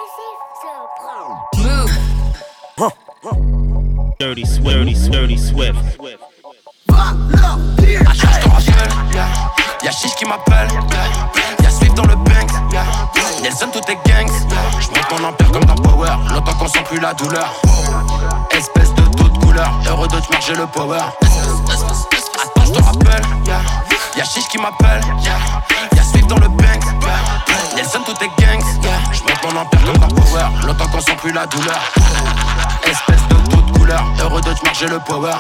Dirty Swift. À chaque je te rappelle, y'a Chiche qui m'appelle, y'a Swift dans le bank, Nelson tout est gangs. J'monte mon empire comme dans Power, longtemps qu'on sent plus la douleur. Espèce de toute couleur, heureux de te marger le power. Attends je te rappelle, y'a Chiche qui m'appelle, y'a Swift dans le bank, Nelson tout est gangs. J'monte mon empire comme dans Power, longtemps qu'on sent plus la douleur. Espèce de toute couleur, heureux de te marger le power.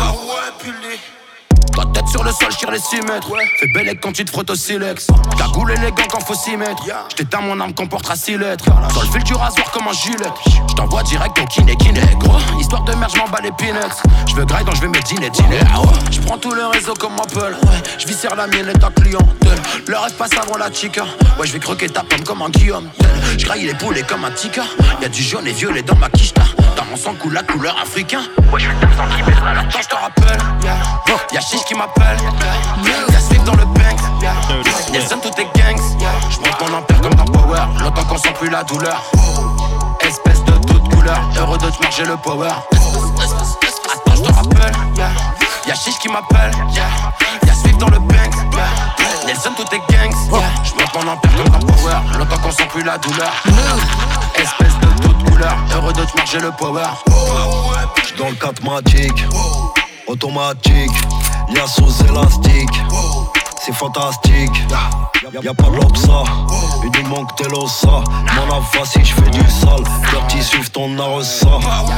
Ta tête sur le sol, j'tire les 6 mètres. Fais belle quand tu te frottes au silex. Cagoule élégant quand faut s'y mettre. J't'éteins mon âme comportera 6 lettres. Sur le fil du rasoir comme un gilet. J't'envoie direct au kiné gros. Histoire de merde, j'm'en bats les peanuts. J'veux graille donc j'vais me dîner. J'prends tout le réseau comme Apple. J'viscère la mienne et ta clientèle. Le rêve passe avant la chica. Ouais, j'vais croquer ta pomme comme un Guillaume. J'graille les poulets comme un tika. Y'a du jaune et violet dans ma quicheta. Dans mon sang coule la couleur africain. Ouais, j'fais le taf sans qui mettra la attends, j'te rappelle. Y'a Chiche qui m'appelle, y'a Swift dans le bank, Nelson tout est gangs. J'monte mon empire comme dans Power, longtemps qu'on sent plus la douleur. Espèce de toute couleur, heureux de te marger le power. Attends je te rappelle, y'a Chiche qui m'appelle, y'a Swift dans le bank, Nelson tout est gangs. J'monte mon empire comme dans Power, longtemps qu'on sent plus la douleur. Espèce de toute couleur, heureux de te marger le power. J'suis dans le 4 magique, automatique, lien sous élastique, c'est fantastique. Y'a pas de l'obsa, il nous manque de l'ossa. Mon ava si j'fais du sale, Dirty Swift on a ressa.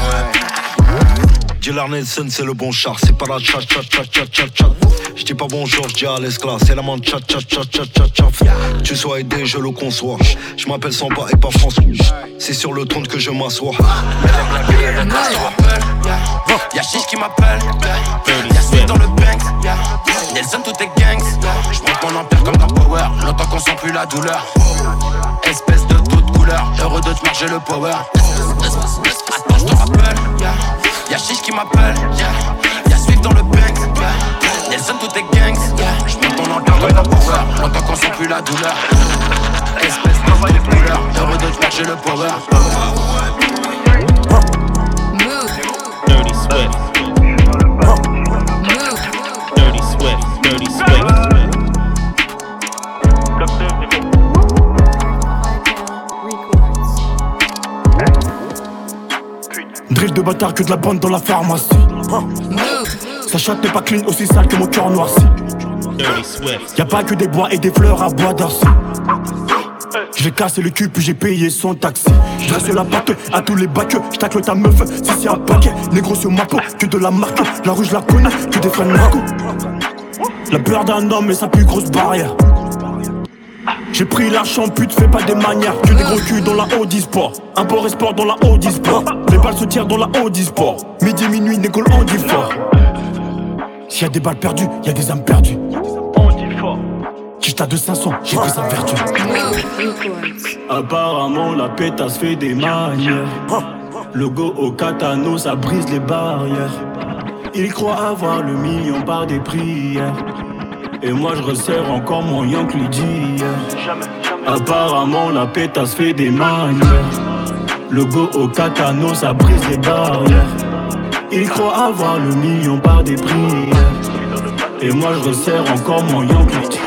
Dealer Nelson c'est le bon char, c'est pas la chat. J'dis pas bonjour, j'dis à l'esclave, c'est la main chat. Tu sois aidé, je le conçois. J'm'appelle Samba et pas François. C'est sur le trône que je m'assois. Y'a Chiche qui m'appelle, y'a Swift dans le bank, Nelson tout est gangs. J'monte mon empire comme dans Power, longtemps qu'on sent plus la douleur. Espèce de toute couleur, heureux de te marger le power. Attends je te rappelle, y'a Chiche qui m'appelle, y'a Swift dans le bank, Nelson tout est gangs. J'monte mon empire comme dans Power, longtemps qu'on sent plus la douleur. Espèce de toute couleur, heureux de te marger le power. Dirty Swift. Dirty Swift. Drill de bâtard que de la bande dans la pharmacie. Sa chatte n'est pas clean, aussi sale que mon cœur noirci. Dirty Swift. Y'a pas que des bois et des fleurs à bois d'Arcy. J'ai cassé le cul puis j'ai payé son taxi. J'dresse la patte à tous les bacs. J'tacle ta meuf si c'est un paquet. Négro sur ma peau, que de la marque. La rue je la connais, que des fans narco. La peur d'un homme est sa plus grosse barrière. J'ai pris l'argent pute, fais pas des manières. Que des gros culs dans la Audi Sport. Import et sport dans la Audi Sport. Les balles se tirent dans la Audi Sport. Midi, minuit, négro on dit fort. S'il y a des balles perdues, y'a des âmes perdues. Quicheta de 500, j'ai pris sa vertu. Apparemment la pétasse fait des manières. Logo au katano, ça brise les barrières. Il croit avoir le million par des prières. Et moi je resserre encore mon Yankee d'hier. Apparemment la pétasse fait des manières. Logo au katano, ça brise les barrières. Il croit avoir le million par des prières. Et moi je resserre encore mon Yankee d'hier.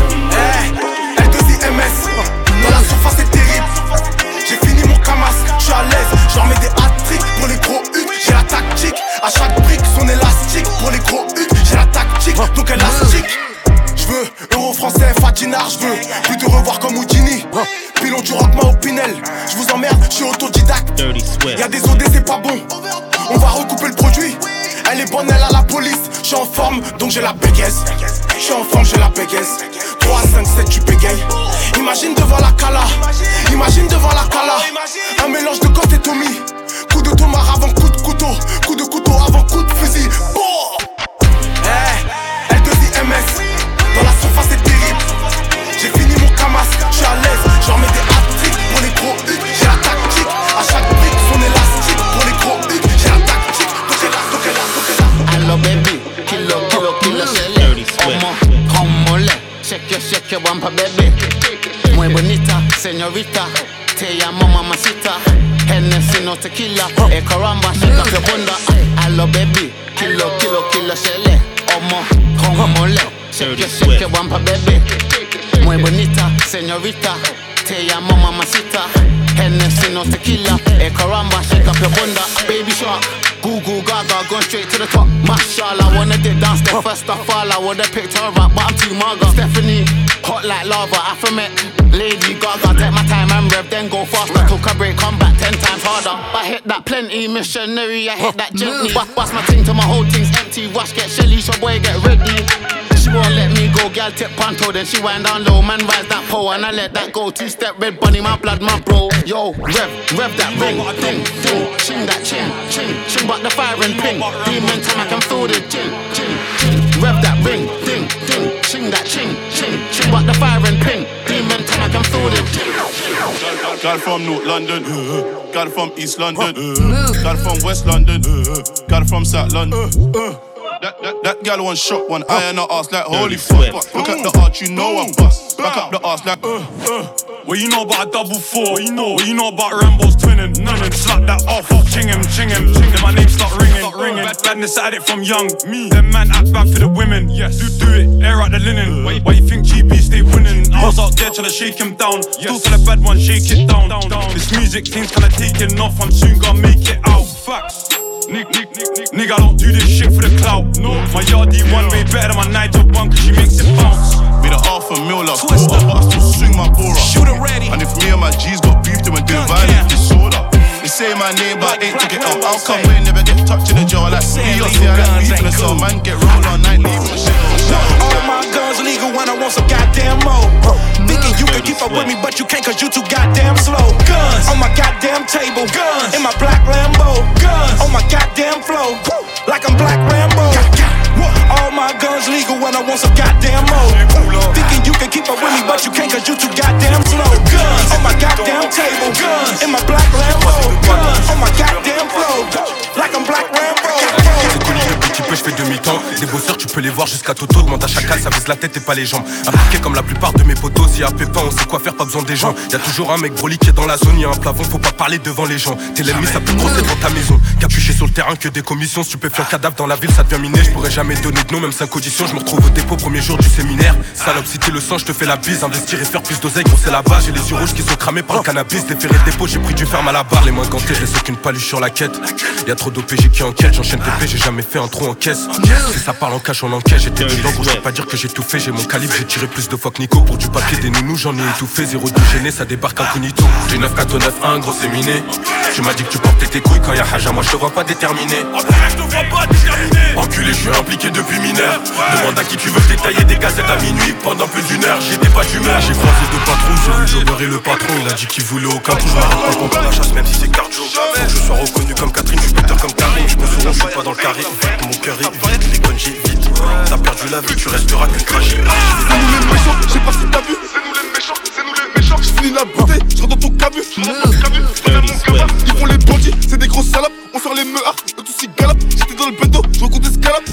Dans la surface c'est terrible. J'ai fini mon camas, j'suis à l'aise. J'en mets des hat-tricks pour les gros hucs. J'ai la tactique, à chaque brique son élastique. Pour les gros hucs, j'ai la tactique, donc élastique. J'veux euro français, Fatinar, j'veux plus te revoir comme Houdini. Pilon du rockman au Pinel. J'vous emmerde, j'suis autodidacte. Y'a des OD, c'est pas bon. On va recouper le produit. Elle est bonne, elle a la police. J'suis en forme, donc j'ai la bégaise. J'suis en forme, j'ai la bégaise. 3, 5, 7, tu bégayes. Imagine devant la cala. Imagine devant la cala. Un mélange de Ghost et Tommy. Coup de tomar avant coup de couteau. Coup de couteau avant coup de fusil. L2IMS. Dans la surface c'est terrible. J'ai fini mon camas, j'suis à l'aise. J'en mets des hat-tricks pour les gros hucs. J'ai la tactique, à chaque brique son élastique. Pour les gros hucs, j'ai la tactique. Donc elle a. Hello baby, kilo, shele. Como, mollet. Shake your bumper baby. Muy bonita, señorita. te llamo mamacita. Hennessy no tequila. Caramba, shake up your bunda. Hello baby, kilo, shele. Como mole. Shake your wampa baby. Muy bonita, señorita. Te llamo mamacita. Hennessy no tequila. Caramba, shake up your bunda. Baby shark. Goo gaga, going straight to the top. Mashallah, wanna dip down, step first I fall. I would've picked her up, but I'm too maga. Stephanie, hot like lava, Afromet. Lady Gaga, take my time and rev, then go faster. Took a break, come back 10 times harder. I hit that plenty, missionary, I hit that gently. Bust my ting till my whole thing's empty. Wash, get shelly, so boy, get ready. She won't let me go, gal tip panto, then she wind down low. Man rise that pole and I let that go. 2-step red bunny, my blood, my bro. Yo, rev that ring, ding, ching that ching, but the fire and ping. Demon time, I can feel the ching. Rev that ring, ding, ching that ching, but the fire and ping. Demon time, I can feel the ching. Got it from North London, got it from East London, got it from West London, got it from South London. That gal one shot, one eye and her ass like holy fuck. Look at the arch, you know I bust. Back up the ass like Well, you know about a double four. What you know about Rambo's twinning. None slap that off. Ching him. My name start ringing. Badness at it from young. Me. Them man act bad for the women. Yes. Do it. Air out the linen. Why you think GB stay winning? I was out there trying to shake him down. Still tell the bad one, shake it down. This music thing's kinda taking off. I'm soon gonna make it out. Facts. Nigga, I don't do this shit for the clout. No. My yardie one way better than my Nigel one, cause she makes it bounce. Be the $500,000 like quarter, but I still swing my bora. Shoot it ready. And if me and my G's got beef, then we're doing violent disorder. They say my name, but I ain't took it out. How come we never get touched in the jaw? Like me, or say I like beef in the cell. Man, get rolled on night, leave the shit. All my guns legal when I want some goddamn more. Thinking you can keep up with me, but you can't cause you too goddamn slow. Guns on my goddamn table. Guns in my black Lambo. Guns on my goddamn flow. Like I'm Black Rambo. All my guns legal when I want some goddamn more. Thinking you can keep up with me, but you can't cause you too goddamn slow. Guns on my goddamn table. Guns in my black Lambo. Guns on my goddamn flow. Like I'm Black Rambo. C'est connu le petit peu, je fais demi-temps. Des bosseurs, tu peux les voir jusqu'à Toto. Demande à chacal, ça vise la tête et pas les jambes. Impliqué comme la plupart de mes potos. S'il y a pépin, on sait quoi faire, pas besoin des gens. Y'a toujours un mec broli qui est dans la zone. Y'a un plafond, faut pas parler devant les gens. T'es l'ennemi, ça peut grosser devant ta maison. Capuché sur le terrain que des commissions. Stupéfiant cadavre dans la ville, ça devient miné. Je pourrais jamais donner de nom, même 5 auditions. Je me retrouve au dépôt, premier jour du séminaire. Salope, si t'es le sang, je te fais la bise. Investir et faire plus d'oseille, gros c'est la base. J'ai les yeux rouges qui sont cramés par le cannabis. Déféré de dépôt, j'ai pris du ferme à la barre. Les mains gantées, je laisse aucune paluche sur la quête. Y'a trop d'OPG qui enquête, j'enchaîne TP, j'ai jamais fait un trou en caisse. Si ça parle en cash, on encaisse. J'étais dedans, gros, je peux pas dire que j'ai tout fait. J'ai mon calibre, j'ai tiré plus de fois que Nico. Pour du papier, des nounous, j'en ai étouffé. Zéro de gêné, ça débarque incognito. J'ai 9-4-9-1, gros c'est miné. Tu m'as dit que tu portais tes couilles quand y'a Haja, moi je te vois pas déterminé. Enculé, je suis impliqué depuis mineur. Demande à qui tu veux détailler des gazettes à minuit. Pendant plus d'une heure, j'étais pas d'humeur. J'ai croisé deux patrons, j'ai vu le jobber et le patron. Il a dit qu'il voulait aucun trou, je m'arrête pas contre la chasse même si c'est cardio. Faut que je sois reconnu comme Catherine, je suis better comme Karim. Je me souviens, je suis pas dans le carré. Mon cœur est vide, les connes j'ai vite. T'as perdu la vie, tu resteras qu'une tragique. C'est nous les méchants, je sais pas si t'as vu. C'est nous les méchants, je finis la bouteille, je rentre dans ton camus. Ils font les bandits, c'est des grosses salopes. On sort les meuhards, eux tous ils galopent. J'étais dans le bendo, je recompte des scalopes.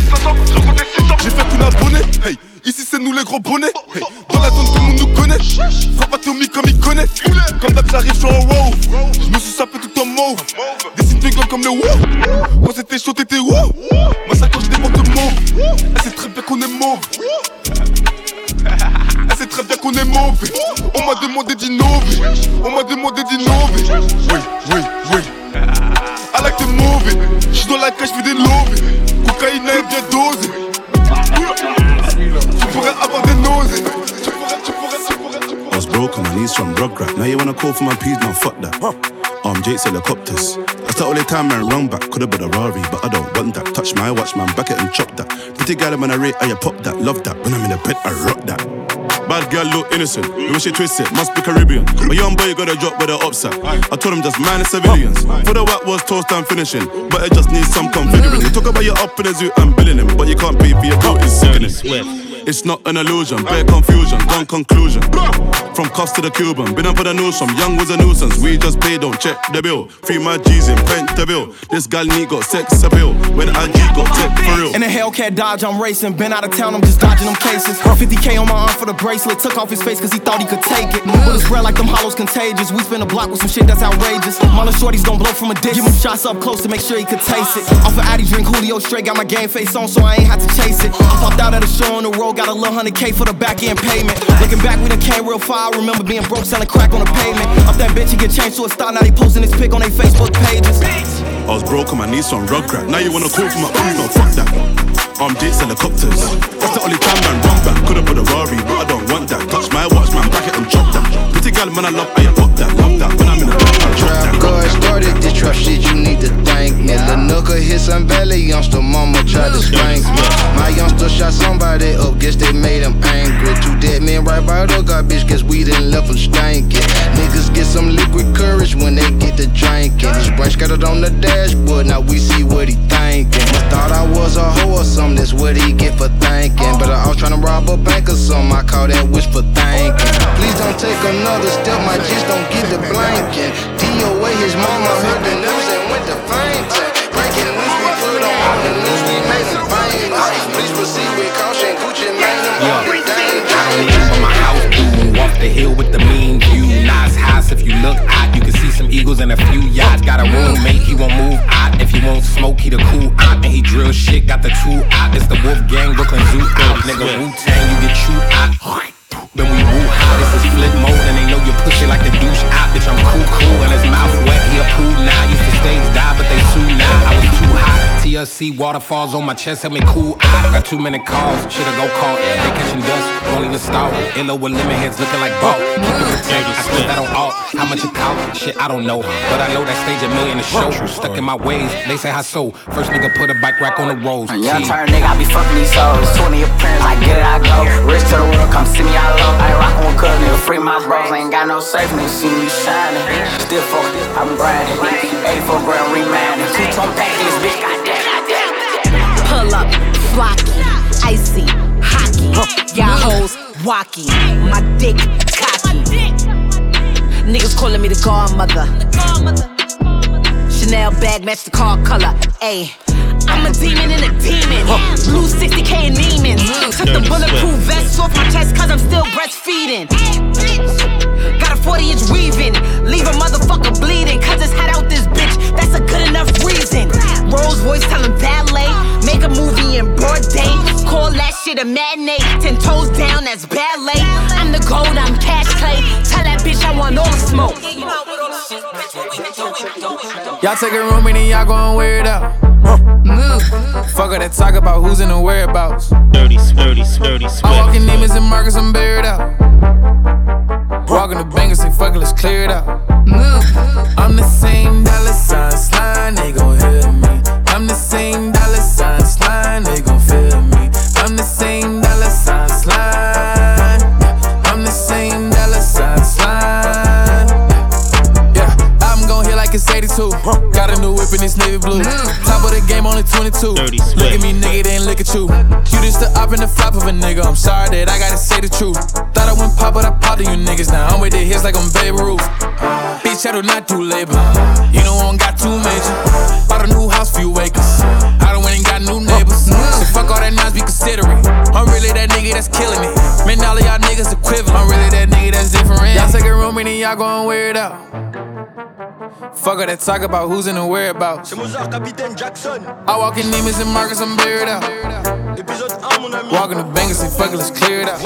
J'ai fait une abonnée, hey. Ici c'est nous les gros bonnets, hey. Dans la zone tout le monde nous connaît. Frappe à Tommy comme il connaît. Comme d'hab j'arrive sur un wow. Je me suis sapé tout en mauve. Des signes de gang comme le wow. Quand c'était chaud t'étais wow. Ma sacoche déborde de mauve. Elle sait très bien qu'on est mauve. Elle sait très bien qu'on est mauvais. On m'a demandé d'innover. Oui. I like the movie. J'suis dans la cage, j'fais des lobbies. Cocaïne est bien dosée. Tu pourrais avoir des nausées. I was broke on my knees from Rugrat. Now you wanna call for my peas, now fuck that. Jake's helicopters. I start all the time and run back. Could've been a Rari, but I don't want that. Touch my watch, man, back it and chop that. Pretty gal when I rate, I pop that. Love that. When I'm in the bed, I rock that. Bad girl look innocent. The way she twist it, must be Caribbean. A young boy got a drop with the upside. I told him just mind the civilians. For the whack was toast and finishing, but it just needs some configuring. You talk about your up in the zoo and billing him, but you can't pay for your coat, it's sickening. It's not an illusion, bare confusion, gone conclusion. From cuffs to the Cuban, been up for the news, from young was a nuisance. We just pay, don't check the bill. Free my G's in Pentabill. This gal need got sex appeal. When IG got tech for real. In a Hellcat Dodge, I'm racing. Been out of town, I'm just dodging them cases. 50K on my arm for the bracelet. Took off his face cause he thought he could take it. Bullets spread like them hollows contagious. We spin a block with some shit that's outrageous. Mother shorties gon' blow from a ditch. Give him shots up close to make sure he could taste it. Off of Addy drink, Julio straight. Got my game face on so I ain't had to chase it. I popped out at a show on the road. Got a little 100K for the back end payment. Looking back, we done came real far. I remember being broke, selling crack on the pavement. Up that bitch, he get changed to a star. Now they posting his pic on their Facebook pages. I was broke on my knees on Rugrat. Now you wanna call for my Uno, fuck that. Jake's helicopters. That's the only time man run back. Could've put a Rari, but I don't want that. Touch my watch, man, back it and drop that. Pretty girl, man, I love, I fuck that, love that. When I'm in the trap, I drop that. God started this trap shit, you need to thank me. The nooker hit some belly, youngster mama tried to spank me. My youngster shot somebody up, guess they made him angry. Two dead men right by the garbage, guess we done left him stankin'. Niggas get some liquid courage when they get to drinking. His brain scattered on the dashboard, now we see what he thinking. Thought I was a hoe or something, that's what he get for thinking. But I was tryna rob a bank or something, I call that wish for thinking. Please don't take another step, my G's don't get the blanking. DOA, his mama heard the news and went to fainting. Breaking news, we put on the news, we made it famous. Please proceed with caution, Gucci made them all the danger. I don't live on my house, boom, off the hill with the mean view. Nice house, if you look out, you can see some eagles and a few yachts. Got a roommate, he won't move out. If he won't smoke, he the cool out. And he drill shit, got the two out. It's the Wolf Gang, Brooklyn Zoo out. Nigga, Wu-Tang, you get chewed out. Then we woo out, this is flip mode. And they know you push it like the douche out. Bitch, I'm cool, and his mouth wet, he a pool now. Used to stage dive, but they sue now. I was too hot. TLC waterfalls on my chest, help me cool out. Got too many calls, shit'll go call. They catching dust, won't even start. Illo with lemon heads looking like ball. Keep it protected, I spent that on all. How much it cost? Shit, I don't know. But I know that stage $1 million a show. Stuck in my ways, they say how so. First nigga put a bike rack on the rolls. Young turn nigga, I be fucking these hoes. 20 appearance, I get it, I go. Rich to the world, come see me, I love. I ain't rockin' with cuz, nigga, free my bros. Ain't got no safe, nigga, see me shining. Still focused, I'm grinding. 84 grand remanding. 2-tone pack, this bitch, goddamn. Pull up, flocky, icy, hockey. Y'all hoes walkie, my dick cocky. Niggas calling me the godmother. Chanel bag match the car color. Ayy, I'm a demon in a demon. Blue 60K in Neiman's. Took the bulletproof vest off my chest cause I'm still breastfeeding. Got a 40-inch weaving. Leave a motherfucker bleeding cause it's hot out this bitch. That's a good enough reason. Rolls Royce telling ballet. Make a movie in broad day. Call that shit a matinee. 10 toes down, that's ballet. I'm the gold, I'm cash clay. Tell that bitch I want all the smoke. Y'all take a room and then y'all gon' wear it out. Fuck her that talk about who's in the whereabouts. Dirty Swift. I'm walking Neiman's and Marcus, I'm buried out. Walking the bank and say fuck it, let's clear it out. I'm the same dollar sign slime, they gon' hear me. I'm the same dollar sign slime, they gon' feel me. I'm the same dollar sign slime. I'm the same dollar sign slime. Yeah, I'm gon' hit like it's 82. Got a new whip in this navy blue. Top of the game, only 22. Look at me, nigga, they ain't look at you. You just the up and the flop of a nigga. I'm sorry that I gotta say the truth. Thought I went pop, but I popped to you niggas. Now I'm with the hits like I'm Babe Ruth. Bitch, I do not do labor. You know I don't got too major. Bought a new house, few acres. I done went and got new neighbors. So fuck all that nonsense, be considerate. I'm really that nigga that's killing it. Man, all of y'all niggas equivalent. I'm really that nigga that's different. Y'all take a room and then y'all gon' wear it out. Fuck her that talk about who's in the whereabouts. C'est Mozart, Capitaine Jackson. I walk in Neiman's and Marcus, I'm buried out. Walking the bank and say fuck it, let's clear it out.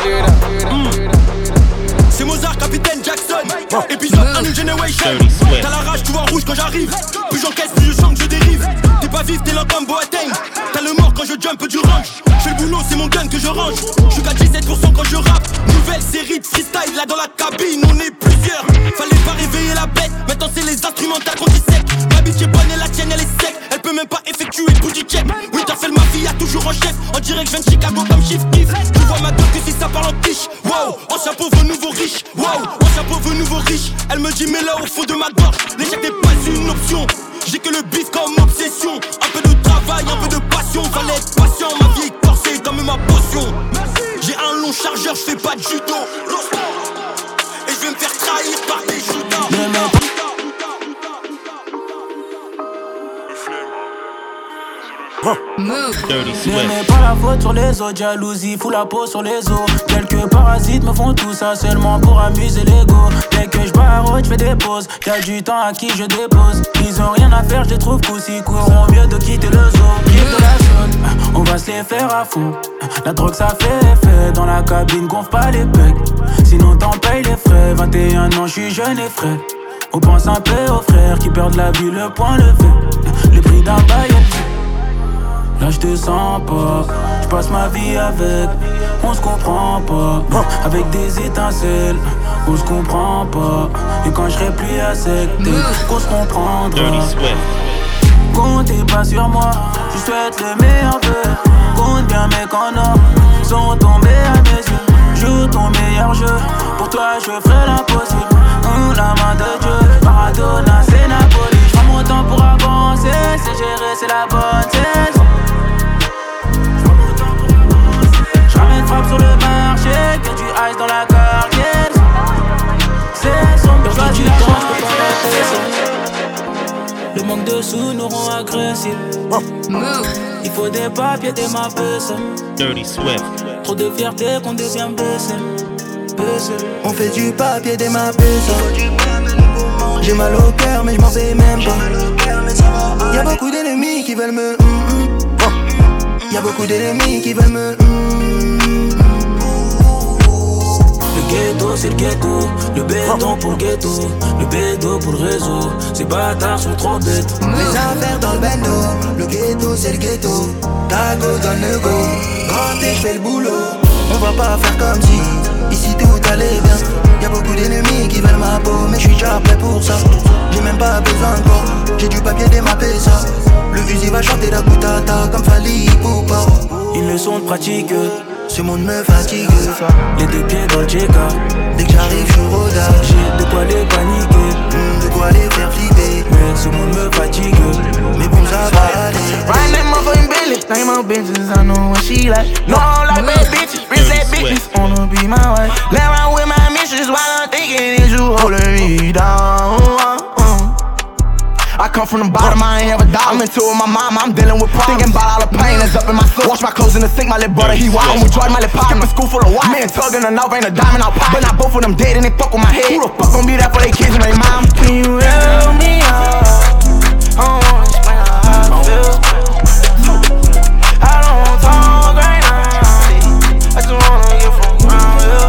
C'est Mozart, Capitaine Jackson. Épisode 1 New Generation. T'as la rage, tu vois rouge quand j'arrive. Plus j'encaisse, plus je chante, je dérive. T'es pas vif, t'es lent comme Boateng. T'as le mort quand je jump du range. J'fais le boulot, c'est mon gun que je range. J'suis qu'à 17% quand je rappe. Nouvelle série de freestyle, là dans la cabine, on est plusieurs. Fallait pas réveiller la bête, maintenant c'est les instrumentales qu'on dissèque. Ma bitch est bonne et la tienne elle est sec. Elle peut même pas effectuer le booty check. Oui, t'as fait le mafia, toujours en chef. En direct, j'viens de Chicago comme Chief Keef. Tu vois ma doc que si ça parle en quiche. Wow, ancien pauvre, nouveau riche. Wow, ancien pauvre, nouveau riche. Elle me dit, mets-la au fond de ma gorge. L'échec n'est pas une option. J'ai que le bif comme obsession. Un peu de travail, un peu de passion. Fallait être patient, ma vie est corsée comme ma potion. J'ai chargeur, je fais pas de judo. Et je vais me faire trahir par des judas. Ne mets pas la faute sur les autres, jalousie fout la peau sur les os. Quelques parasites me font tout ça seulement pour amuser l'ego. Dès que je barote, je fais des pauses. Y'a du temps à qui je dépose. Ils ont rien à faire, je les trouve cool. S'ils courront mieux de quitter le zoo. Quitte de la zone, on va se les faire à fond. La drogue ça fait effet. Dans la cabine, gonfle pas les pecs. Sinon t'en payes les frais. 21 ans, je suis jeune et frais. On pense un peu aux frères qui perdent la vue, le point levé. Le prix d'un bail. Là je te sens pas, je passe ma vie avec, on se comprend pas. Avec des étincelles, on se comprend pas. Et quand je serai plus à sec, qu'on se comprendra. Comptez pas sur moi, je souhaite le meilleur vœu. Compte bien mes canards, sont tombés à mes yeux. Joue ton meilleur jeu, pour toi je ferai l'impossible. La main de Dieu, Maradona c'est Napoli. J'prends mon temps pour avancer, c'est gérer, c'est la bonne saison. J'ramène frappe sur le marché, que tu ice dans la cargaison. C'est sombre, choisis la chance, je peux pas rester. Le manque de sous nous rend agressifs. Il faut des papiers, des mappes. Dirty Swift. Trop de fierté qu'on devient baissé. On fait du papier, des mappes. J'ai mal au cœur mais je m'en fais même pas. Y'a beaucoup d'ennemis qui veulent me Y'a beaucoup d'ennemis qui veulent me Le ghetto c'est le ghetto, le béton pour le ghetto, le bédo pour le réseau. Ces bâtards sont trop bêtes. Les affaires dans le bendo, le ghetto c'est le ghetto. Tago donne le go, quand je fais le boulot. On va pas faire comme si ici tout allait bien. Y'a beaucoup d'ennemis qui veulent ma peau, mais je suis déjà prêt pour ça. J'ai même pas besoin de corps, j'ai du papier démappé ça. Le fusil va chanter la boutata comme Fali Poupa. Une leçon de pratique, ce monde me fatigue. Les deux pieds dans le JK. Dès que j'arrive, je suis rodard. J'ai de quoi les paniquer, de quoi les faire flipper. Mais ce monde me fatigue, mais bon ça va aller. Riding that motherfucking Bentley, think my bitches, I know what she like. No, I don't like bad bitches, rich ass bitches, wanna be my wife. Lay around with my mistress while I'm thinking is you holding me down. I come from the bottom, I ain't have a dollar. I'm into it with my mama, I'm dealing with problems. Thinking about all the pain that's up in my soul. Wash my clothes in the sink, my little brother, he wild. We Jordan, my little pop. Skipping school full of wild. Me and Tug in the north, ain't a diamond out pop. But not both of them dead and they fuck with my head. Who the fuck gon' be there for their kids and their mom? Can you help me out? I don't wanna explain how I feel. I don't wanna talk right now. I just wanna get from around here.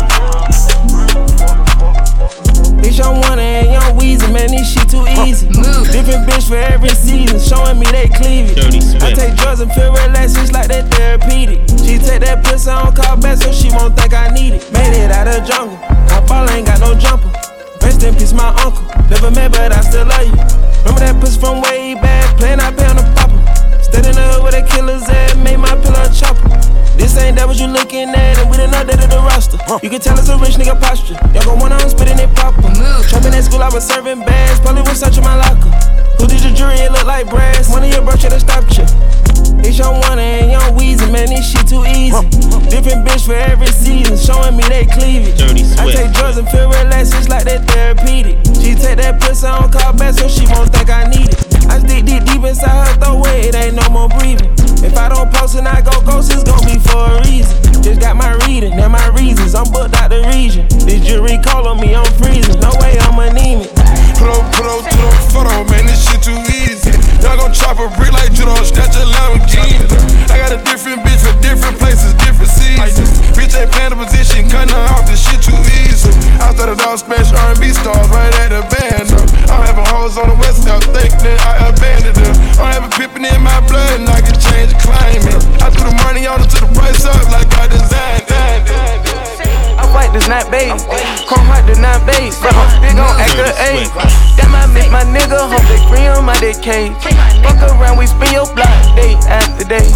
Bitch, I'm one and young Weezy, man, this shit too easy. Different bitch for every season, showing me they cleavage. I take drugs and feel relaxed, it's like that therapeutic. She take that pussy on call back so she won't think I need it. Made it out of the jungle, my ball ain't got no jumper. Rest in peace, my uncle. Never met, but I still love you. Remember that pussy from way back, playing I pay on the popper. Stayed in the hood where the killers at, made my pillow a chopper. This ain't that what you looking at, and we done updated the roster. You can tell it's a rich nigga posture. Y'all gon' wanna spitting it proper. Trapping at school, I was serving bags, probably was searching my locker. Who did your jury? It look like brass. One of your bro should've stopped you. It's young one and young Weezy, man, this shit too easy. Different bitch for every season, showing me they cleavage. I take drugs and feel relaxed, it's like that therapeutic. She take that pussy on call back so she won't think I need it. I stick deep inside her throat, it ain't no more breathing. If I don't post and I go ghost, it's gon' be for a reason. Just got my reading and my reasons, I'm booked out the region. This jury call on me, I'm freezing, no way I'm anemic. Put up to the photo, man, this shit too easy. Y'all gon' chop a brick like judo, snatch a Lamborghini. I got a different bitch for different places, different seasons. Bitch ain't playing the position, cutting her off, this shit too easy. I started off smash R&B stars right at the band. I'm having hoes on the west side, think that I abandoned them. I'm having pippin' in my blood and I can change the climate. I threw the money on it to the price up like I designed it. I fight this not babe, come hard to not babe. But I'm still gon' act a A. That might make my nigga, hope they free on my dick cage. Fuck around, we spin your block day after day.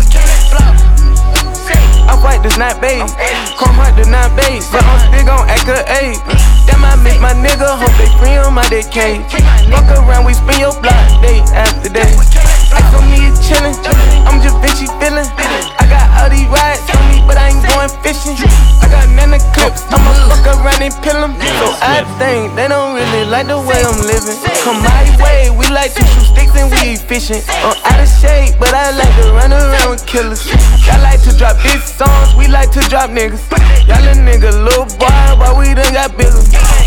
I fight this not babe, come hard to not babe. But I'm still gon' act a A. That might make my nigga, hope they free on my dick cage. Fuck around, we spin your block day after day. Ice on me is chillin', I'm just Vinci feelin'. I got all these rides on me, but I ain't going fishing. I got and the clips. I'ma fuck around and pill them. So I think they don't really like the way I'm living. Come my way, we like to shoot sticks and we fishing. I'm out of shape, but I like to run around with killers. Y'all like to drop big songs, we like to drop niggas. Y'all a nigga little boy, but we done got bigger.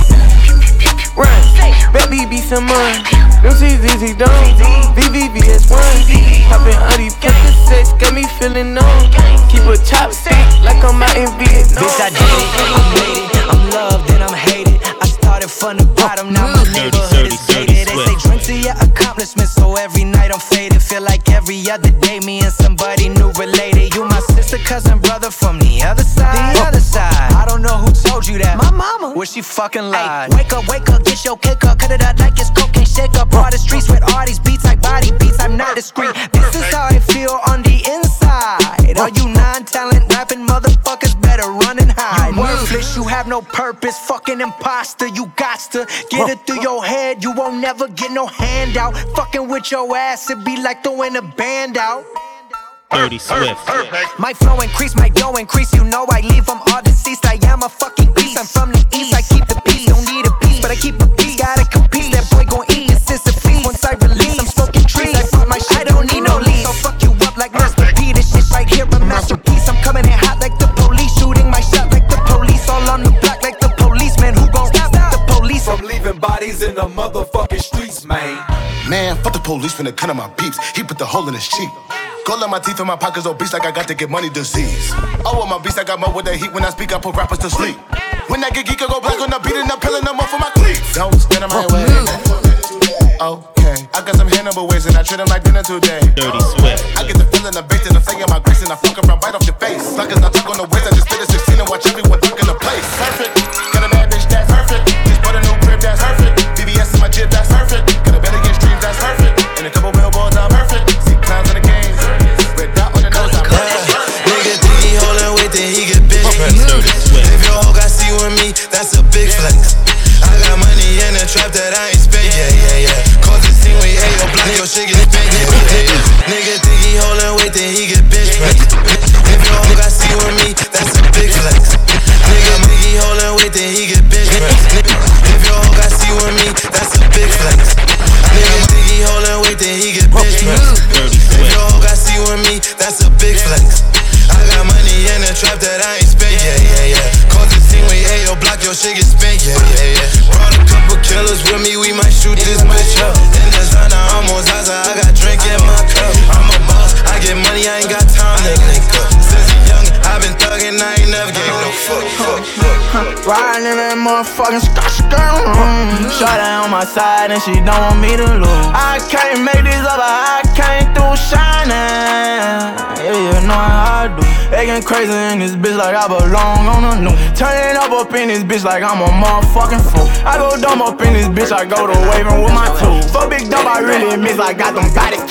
Run, baby be some money. Them C's easy done. VVVS1. Hoppin' on these Percocets, got me feeling numb. Keep a chopstick like I'm out in Vietnam. Bitch, I did it, I made it. I'm loved and I'm hated. I started from the bottom, now my neighborhood is gated. They say drink to your accomplishments, so every night I'm faded. Feel like every other day me and somebody new related. You my sister, cousin, brother from the other side. The other side. I don't know who told you that. My mama. Well, she fucking lied. Wake up, get your cake up, cut it out like it's cocaine. Shake up all the streets with all these beats like body beats. I'm not discreet. This is how I feel on the inside. All you non-talent rapping motherfuckers better run and hide. You worthless, you have no purpose. Fucking imposter, you gots to get it through your head. You won't never get no handout. Fucking with your ass, it be like throwing a band out. Dirty Swift. My flow increase, my dough increase. You know I leave them all deceased. I am a fucking beast. I'm from the east. I keep the peace. Don't need a piece, but I keep a piece. Gotta compete. That boy gon' eat. This is a feast. Once I release, I'm smoking trees. I put my shit. I don't need no leads. So fuck you up like Master P. This shit right here a masterpiece. I'm coming in hot like the police. Shooting my shot like the police. All on the block like the policeman. Who gon' stop the police? From leaving bodies in the motherfucking streets, man. Man, fuck the police finna cut on my peeps. He put the hole in his cheek. Cold on my teeth and my pockets obese like I got to get money disease. Oh, with my beast, I got more with the heat. When I speak, I put rappers to sleep. When I get geek, I go black on the beat and I'm peeling them off for my cleats. Don't stand in my way. Okay, I got some Hannibal ways and I treat them like dinner today. Dirty Swift. I get the feeling of bait and I'm saying my grace and I fuck around right off your face. Like it's not talk on the waist, I just spit a 16 and watch everyone duck in the place. Perfect, got a bad bitch, that's perfect. Just bought a new crib, that's perfect. BBS in my jib, that's perfect. Got a better get streams, that's perfect. And a couple billboards, I'm perfect. See clowns in the game. Nigga think he holding weight, then he get big. If your hoe got see with me, that's a big flex. I got money in the trap that I ain't spent, yeah. Cause it seem we ate your block, your shit get spent, yeah. Nigga think he holding weight, then he get bitch pressed. If your hoe got see with me, that's a big flex. Nigga think he holding weight, then he get bitch pressed. If your hoe got see with me, that's a big flex. Nigga think he holding weight, then he get bitch pressed. If your hoe got see with me, that's a big flex. I got money in the trap that I ain't spent, yeah. Cause it seem we ate your block, your shit get spent, yeah. Brought a couple killers with me, we might shoot this bitch up. In the Zana, I'm on Zaza, I got drink in my cup. I'm a boss, I get money, I ain't got time to link up. Since a young, I been thuggin', I ain't never gave no fuck. Riding in that motherfucking skirt. Shot on my side and she don't want me to lose. I can't make this up, I came through shining. Yeah, you know how I do. Acting crazy in this bitch like I belong on a new. Turning up in this bitch like I'm a motherfucking fool. I go dumb up in this bitch, I go to waving with my tools. For big dumb, I really miss, I got them bodies.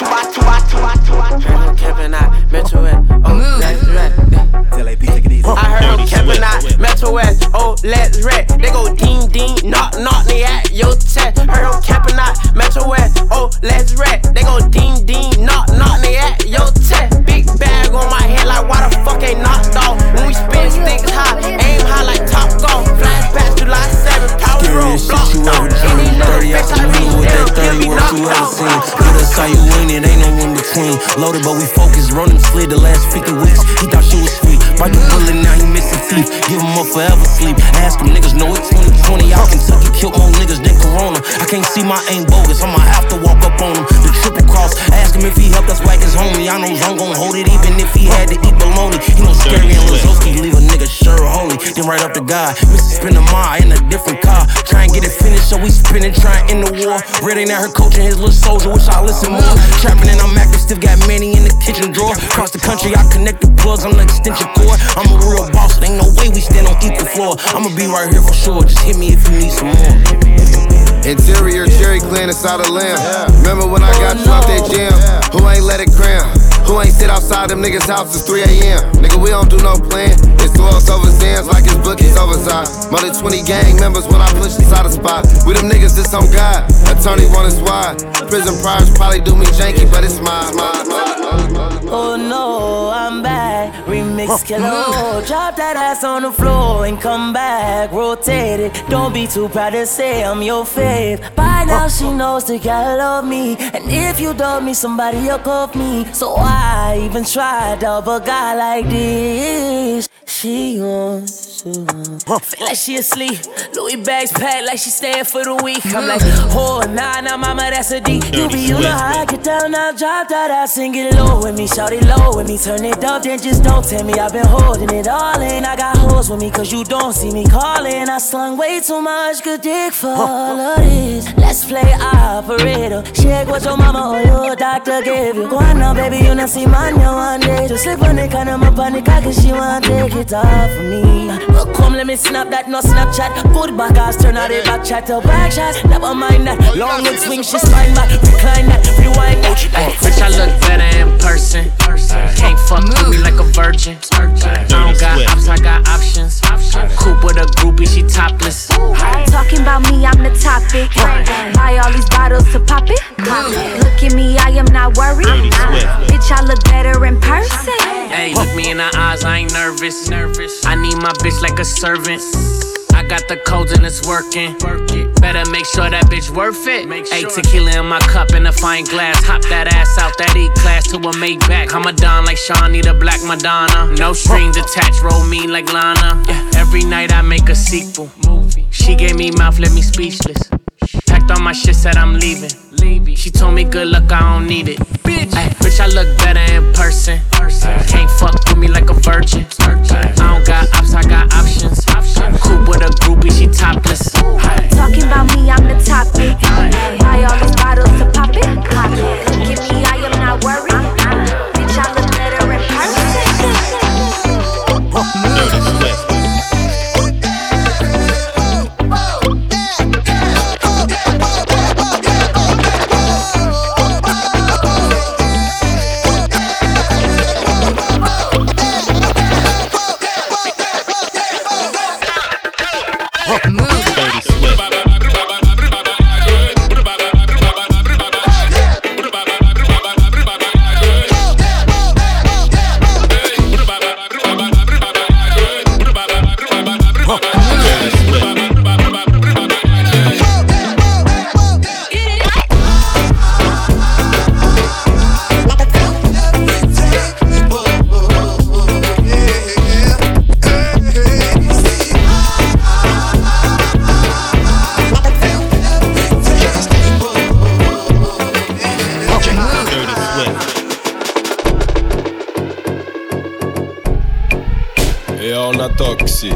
I'm camping out, Metro West, oh, let's rap. take it easy. I heard them camping out, Metro West, oh, let's rap. They go ding ding, knock knock, they at your chest. Heard them camping out, Metro West, oh, let's rap. They go ding ding, knock knock, they at your chest. Big bag on my head, like why the fuck ain't knocked off? When we spin sticks high, aim high like Top Golf. Flashback July 7th, Power Road, blocked off. Any little bitch I reach, they'll give me knocked off. With us how you win, it ain't no in between. Loaded but we focused, run him slid the last 50 weeks. He thought she was sweet, bite the bullet, now he missing teeth. Give him up forever sleep. Ask them niggas know it's 2020. Out Kentucky killed more niggas than Corona. I can't see my aim bogus, I'ma have to walk up on him. The triple cross, ask him if he helped us whack his homie. I know Zone gon' hold it even if he had to eat bologna. He know Scary and Lazowski leave a nigga sure holy. Then right up the guy, Mr. Spin a mile in a different car. Try and get it finished, so we spinning, trying in the war. Reading at her coaching his little soldier, wish I listen more. Trapping and I'm active, still got many in the kitchen drawer. Across the country, I connect the plugs, I'm the extension cord. I'm a real boss, it ain't no way we stand on equal floor. I'ma be right here for sure, just hit me if you need some more. Interior cherry clean inside a lamb. Remember when I got you out that jam? Who ain't let it cram? Who ain't sit outside them niggas' houses 3 a.m.? Nigga, we don't do no plan. It's oils over sands like it's bookies oversized. More than 20 gang members when I push inside a spot. We them niggas, this on God. Attorney want us wide. Prison priors probably do me janky, but it's mine. Oh no, I'm back. Remember mix killer. Drop that ass on the floor and come back, rotate it. Don't be too proud to say I'm your fave. By now she knows that God love me, and if you dub me, somebody will cuff me. So why even try to dub a guy like this? She wants to feel like she asleep. Louis bags packed like she staying for the week. I'm like, oh nah, mama, that's a D. You know how I get down, now drop that ass and get low with me. Shout it low with me, turn it up, then just don't tell me I've been holding it all in. I got hoes with me cause you don't see me calling. I slung way too much good dick for all of this. Let's play operator. Shake what your mama or your doctor gave you. Go on now, baby, you not see man, you one day. Just slip on the kind of my panic, cause she want to take it off of me. Well, come, let me snap that, no Snapchat. Good back ass, turn out the back chat to back shots. Never mind that, long wood swing, she spine back. Recline that, rewind that. Bitch, I look better in person. Can't fuck with me like a virgin. I don't got ops, I got options. Coupe with a groupie, she topless. Talking about me, I'm the topic. Buy all these bottles to pop it. Look at me, I am not worried. Bitch, I look better in person. Hey, look me in the eyes, I ain't nervous. I need my bitch like a servant. I got the codes and it's working. Better make sure that bitch worth it. Hey, tequila in my cup in a fine glass. Hop that ass out that E-class to a Maybach. I'm a don like Sean, need a black Madonna. No strings attached, roll me like Lana. Every night I make a sequel. She gave me mouth, left me speechless. Packed all my shit, said I'm leaving. She told me good luck, I don't need it. Bitch, I look better in person. Can't fuck with me like a virgin. I don't got ops, I got options. Coupe with a groupie, she topless. Talking about me, I'm the topic. Buy all these bottles to pop it. Look at me, I am not worried. Bitch, I look better in person. Toxic.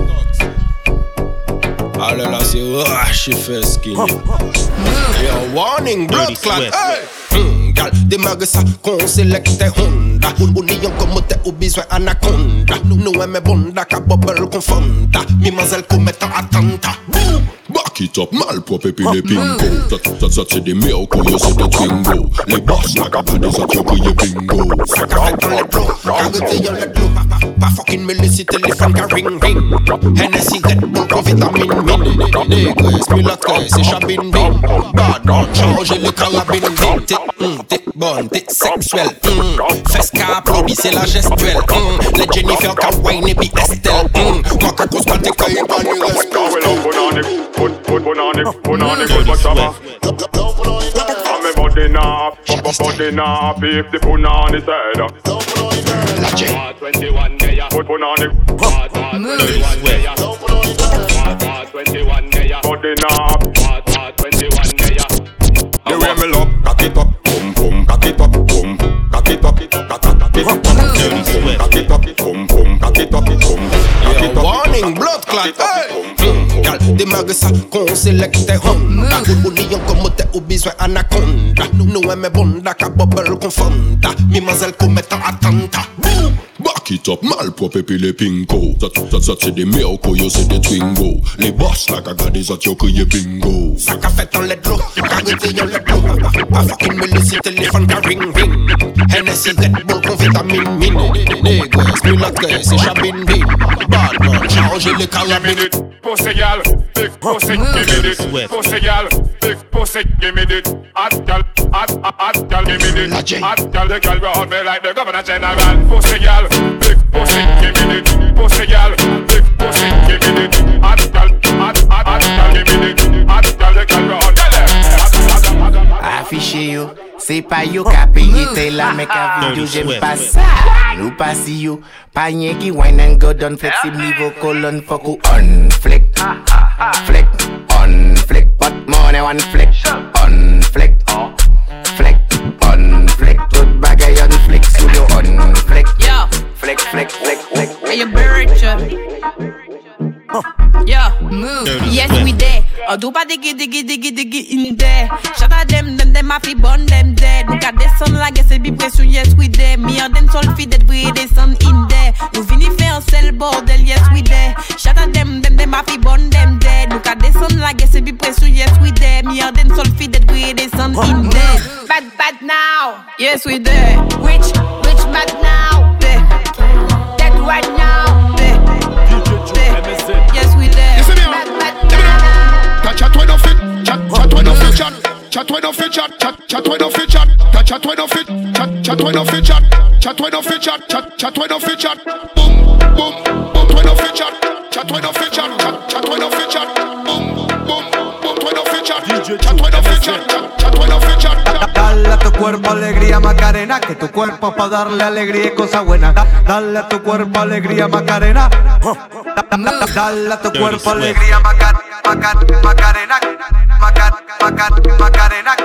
Allez là c'est j'ai fait skinny. Yo, warning, blood clot. Hey! Gal, démarre ça, qu'on sélecte Honda. Ou n'y en commote ou besoin anaconda. Nous aimons bonda, ka bubble confonda. Mimazelle commettant attentat. Back it up, malpropre et puis les pingo. Ça c'est des miracles, c'est des twingo. Les boss n'a qu'à pas des autres crier bingo. Ça qu'a fait dans les blocs, arrêtez y'a les blocs. Pas fucking me laisser téléphone qu'à ring ring. Hennessy Red Bull con vitamine min. Négresse, mulâtresse, c'est chabine bin. Badon, changer les carabines bin. T'es bonne, t'es sexuelle. Fesse qu'à applaudit, c'est la gestuelle. Les Jennifer qu'à Wayne et puis Estelle. Moi qu'à cause quand t'es caillé, pas ni respect. Punani, good bachama. I'm a body nap, if the punani said. Part 21 day, put punani. Part 21 day, part 21 day, body nap. Part 21 day. The way me love, cock it up, boom boom, cock it up, boom, cock it up, cock it up, cock it up, boom boom, cock it up, boom, cock it up. Warning, blood clot, hey. Gal, démarre ça, qu'on sélecte Honda. Ou n'y en commote ou besoin anaconda. Nous aimons bonda, ka bubble confonda. Mimazelle commettant attentat. Back it up, malpropre et puis les pingo. Ça c'est des miracles, yo c'est des twingo. Les boss n'a qu'à garder ça, yo crier bingo. Ça qu'a fait dans les blocs, arrêtez y'a les blocs. Pas fucking me laisser téléphone qu'à ring ring. Hennessy Red Bull con vitamine min. Négresse, mulâtresse, c'est chabine bin. Badman, changer les carabines. Pour ces gals, big pussy, give me this. Pussy gal, big pussy, give me this. Hot gal, give me this. Hot gal, the gal round me like the Governor General. Pussy gal, big pussy, give me this. Pussy gal, big pussy, give me this. Hot gal, give me this. Hot gal, the gal round me. Affiché yo, c'est pas yo qu'a payé t'es là mais qu'a vidéo j'aime pas ça. Nous pas si yo, pas rien qui wine and go down flexible niveau colonne fuck ou on flick, flick, on flick, but money one flick, on flick, flick, on flick, tout bagay on flick, studio on flick, flick, flick, flick, flick. Hey, you bird, yeah, move. Yes, we there. Do pas diggy in there. Shout out them a fi burn them dead. Look at the sun like it's a big pression. Yes, we there. Me and them sol fi dead we the sun in there. Nous vini faire un sel bordel. Yes, we there. Shout out them a fi burn them dead. Look at the sun like it's a big pression. Yes, we there. Me and them sol fi dead we the sun in there. Bad now. Yes, we there. Which bad now? Dead right now. Yes, we there. Chat when no fit, chat when no fit, chat when no fit, chat when no fit, chat when no fit, chat when no fit, chat when no fit, chat when no fit, boom boom boom when no fit, chat when no fit, chat when no fit, boom boom boom when no fit, chat when no fit, chat when no fit. Dale a tu cuerpo alegría Macarena, que tu cuerpo pa darle alegría y cosa buena. Dale a tu cuerpo alegría Macarena. Dale a tu cuerpo alegría Macarena. Macarena, Macarena,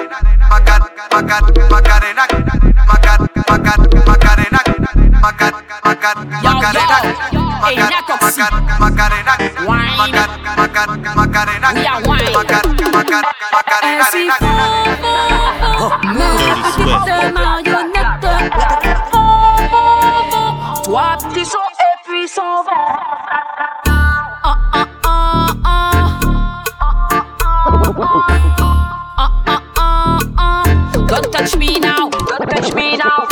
Toi, petit son et puis son vent. Don't touch me now, don't touch me now.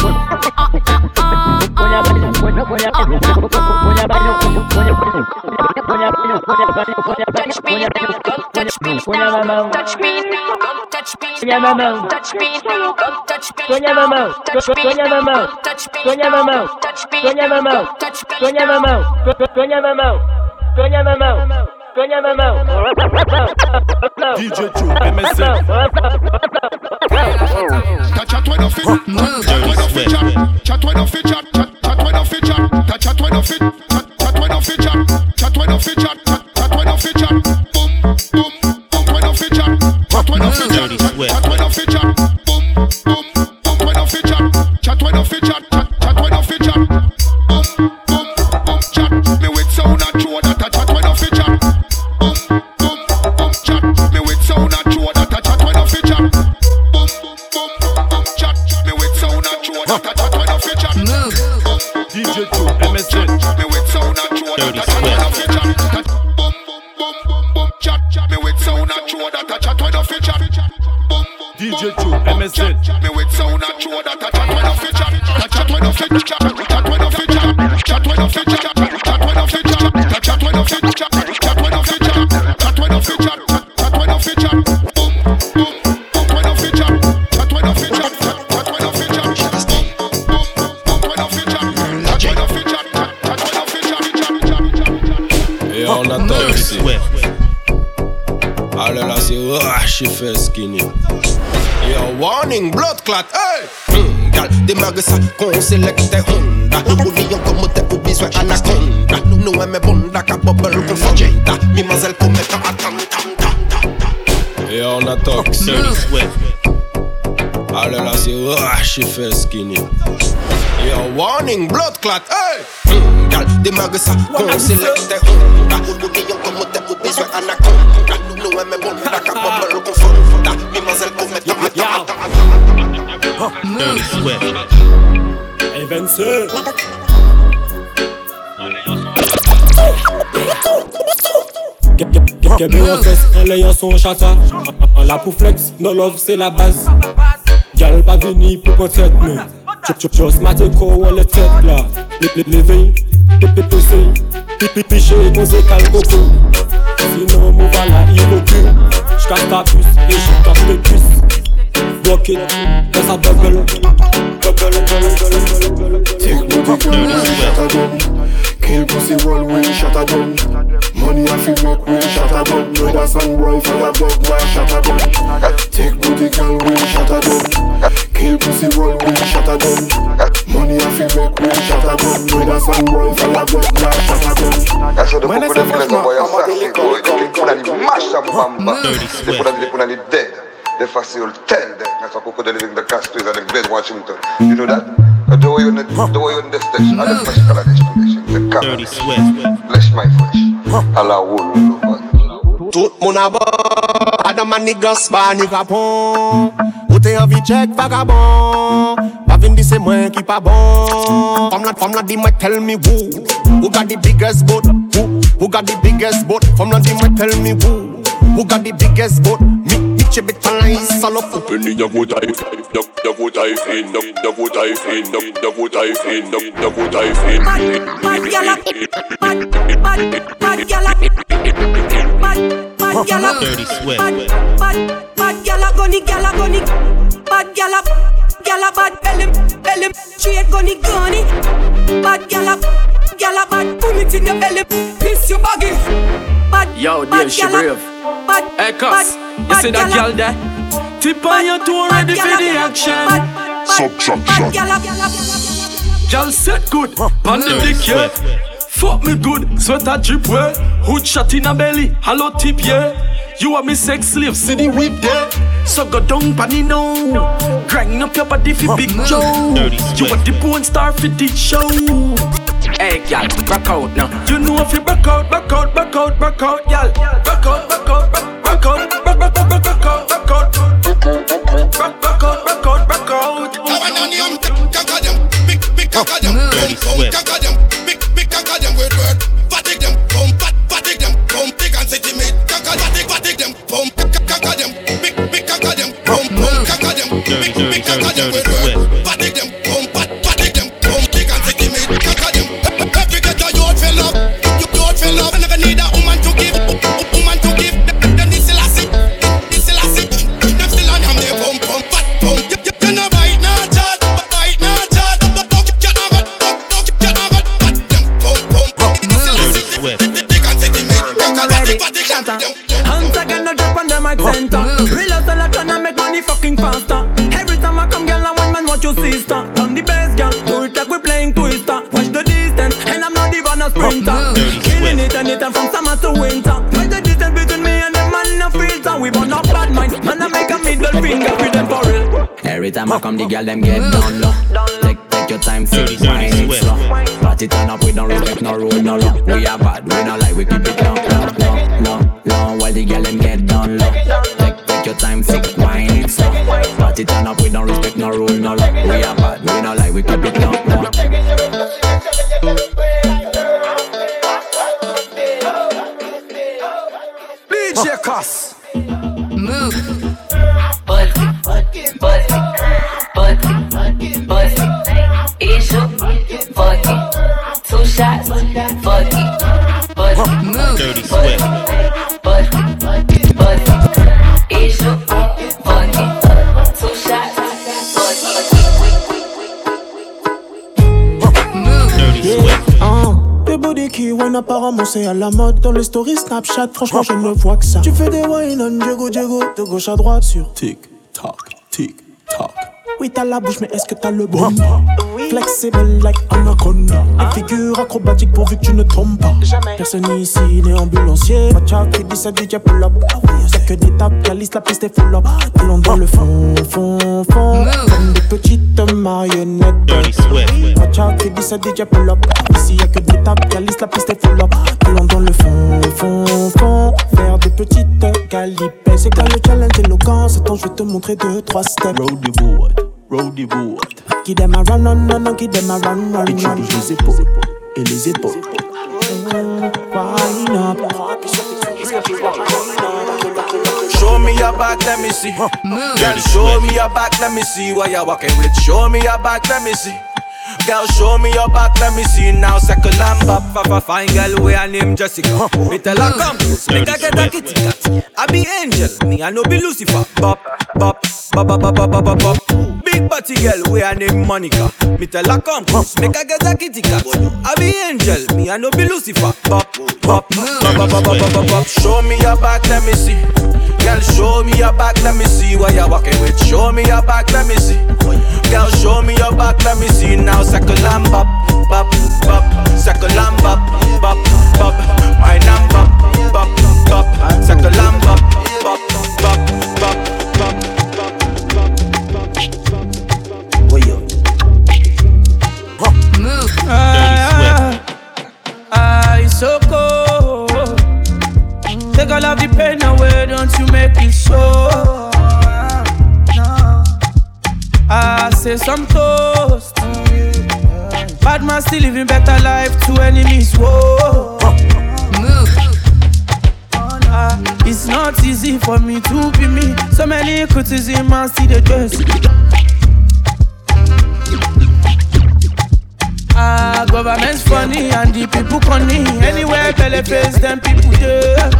Touch me now, don't touch me now. Touch me now, don't touch me now. Touch me now, don't touch me now. Touch me now, touch me now. Touch me now, touch me now. DJ Chu, MSC. Chat when no fit, chat when no fit, chat when no fit, chat when no fit, chat when no fit, chat when no fit, chat when no fit, chat when no fit, boom boom boom when no fit, chat when no fit, chat when no fit, boom boom boom when no fit, chat when no fit, chat when no fit, boom boom boom chat me with sound and throw that chat when no fit, boom boom boom chat me with sound and throw that chat when no fit, boom boom boom chat me with sound and throw that chat when no fit, DJ Chu, MSC. me with sound and throw that chat when no fit, boom boom boom chat me with sound and throw that chat when no fit, boom DJ Chu, MSC. me with sound and throw that chat when no fit, chat when no fit, chat when no fit, chat when no fit, chat when no fit, chat when no fit, chat when no fit, chat when no fit, chat when no fit, boom boom when no fit, chat when no fit, chat when no fit, boom boom when no fit, chat when no fit, Et on attend ici. Allez là, c'est j'ai fait skinny. Yo, warning, blood clot, hey! Gal, démarre ça, qu'on sélecte Honda. Ou lion comme t'es ou besoin anaconda. Nous aimons bonda, qu'à bubble qu'on fait Jada. Mimazelle qu'on met à attendre. Et on attend ici. Allez là, c'est j'ai fait skinny. Yo, warning, blood clot, hey! Gal, démarre ça, qu'on sélecte Honda. Ou lion comme t'es ou besoin anaconda. Nous aimons bonda, qu'à bubble qu'on fait Jada. Mimazelle qu'on met à attendre. Dirty Swift. Hey Vince. Qu'est bien en fesse, un l'ayant son chata. La pour flex, no love c'est la base. Gal pas venu pour peut-être mais just maté quoi on le tête là. Levé, pépé, piché, posé calcoco. Sinon mou va la la puce, et je tape tes cuisses. Block it, et ça bubble. Take booty girl, we shot a gun. Kill pussy wall, we shot a gun. Money I feel make we shot a gun. Brother son boy fire blood, why shot a gun? Take booty girl, we shot a gun. Kill pussy wall, we shot a gun. Money I feel make we shot a gun. Brother son boy fire blood, why shot a gun? Eso de poco de filas no voy a hacer, que kuna ni masha bamba, de kuna ni dead. De facile tell them that's a cocoa living the castles and the bed Washington. You know that? The way on the station, and the fresh color destination. The camera. Dirty Swift. Bless my fresh. Allah will. Tout mon abord, Adam and niggas, pas ni capon. Ou t'es envie check vagabond. Pas vin di c'est moi qui pas bon. Femme la di moi tell me who got the biggest boat? Who got the biggest boat? Femme la di moi tell me who got the biggest boat? Me. Bit falaise salo Penny ya go dive in, ya go dive in, ya go dive in, ya go dive in, ya go dive in. Bad gyal up, bad gyal up, bad gyal up, Dirty Swift. Bad gyal up, gunny, bad gyal up, bad belly, straight gunny. Bad gyal up, bad pull it in your belly, piss your baggy. Yo, Dave, she brave. Hey, cuss, you see that girl there? Tip on your toe, ready for the action. Subtraction. Girl set good, pan the dick, yeah. Fuck me good, sweater drip, well. Hood shot in a belly, hollow tip, yeah. You are me sex slave, see the whip there. So go down, panny now. Grind up your body for Big Joe. You are the porn star for this show. Hey, y'all, back out now. You know if you back out, y'all. Back out. Back out. Back out. Every time I come, the girl them get down low. Take your time, sit, wine it slow. Party turn up, we don't respect no rule, no law. We are bad, we not like we keep it long. While the girl them get down low. Take your time, sit, wine it slow. Party turn up, we don't respect no rule, no law. We are bad, we not like we keep it long. DJ Cuss. Move. Issue, fuck it. 2 shots, fuck it. Move. Dirty Swift. Issue, fuck it. 2 shots, fuck it. Move. Dirty Swift. Tes body qui wine apparemment c'est à la mode. Dans les stories Snapchat, franchement je ne vois que ça. Tu fais des wine on Diego, de gauche à droite sur Tic-tac, tic-tac. Oui t'as la bouche mais est-ce que t'as le bon? Oui. Flexible like Anaconda. Une figure acrobatique pourvu que tu ne tombes pas. Jamais. Personne ici n'est ambulancier. Macha qui dit ça DJ pull up. Y'a que des tapes, calice, la piste est full up. Allons dans le fond. Comme des petites marionnettes. Dirty Swift. Macha qui dit ça DJ pull up. Ici y'a que des tapes, calice, la piste est full up. Allons dans le fond. Faire des petites calipes. C'est quoi le challenge éloquent? C'est temps je vais te montrer 2-3 steps. Roll the boat. Qui dem a run, non, qui dem a run. Et tu bouges les épaules, et les épaules. Wine up. Show me your back, let me see. Girl, show me your back, let me see what you're walking with. Show me your back, let me see. Girl, show me your back, let me see now. Second lamb up, fine girl, we her name Jessica. Me tell her come, make her get a kitty cat. I be angel, me I no be Lucifer. Bop, bop, bop, bop, bop, bop, bop, bop. Big body girl, we I name Monica. Me tell her come, make her get a kitty cat. I be angel, me I no be Lucifer. Bop, bop, bop, bop, bop, bop, bop, bop. Show me your back, let me see. Girl, show me your back, let me see what you're walking with. Show me your back, let me see. Girl, show me your back, let me see. Now circle and bop, bop, bop. Circle and bop, bop, bop. My name bop, bop, bop. Circle and bop, bop, bop, bop, bop, bop, bop. Move. It's so cold. Take all of the pain away, don't you make it so. I say some toast. Bad man still living better life to enemies. Whoa. Move. It's not easy for me to be me. So many criticism and see the dress. Government's funny and the people funny. Anywhere belly face them people there.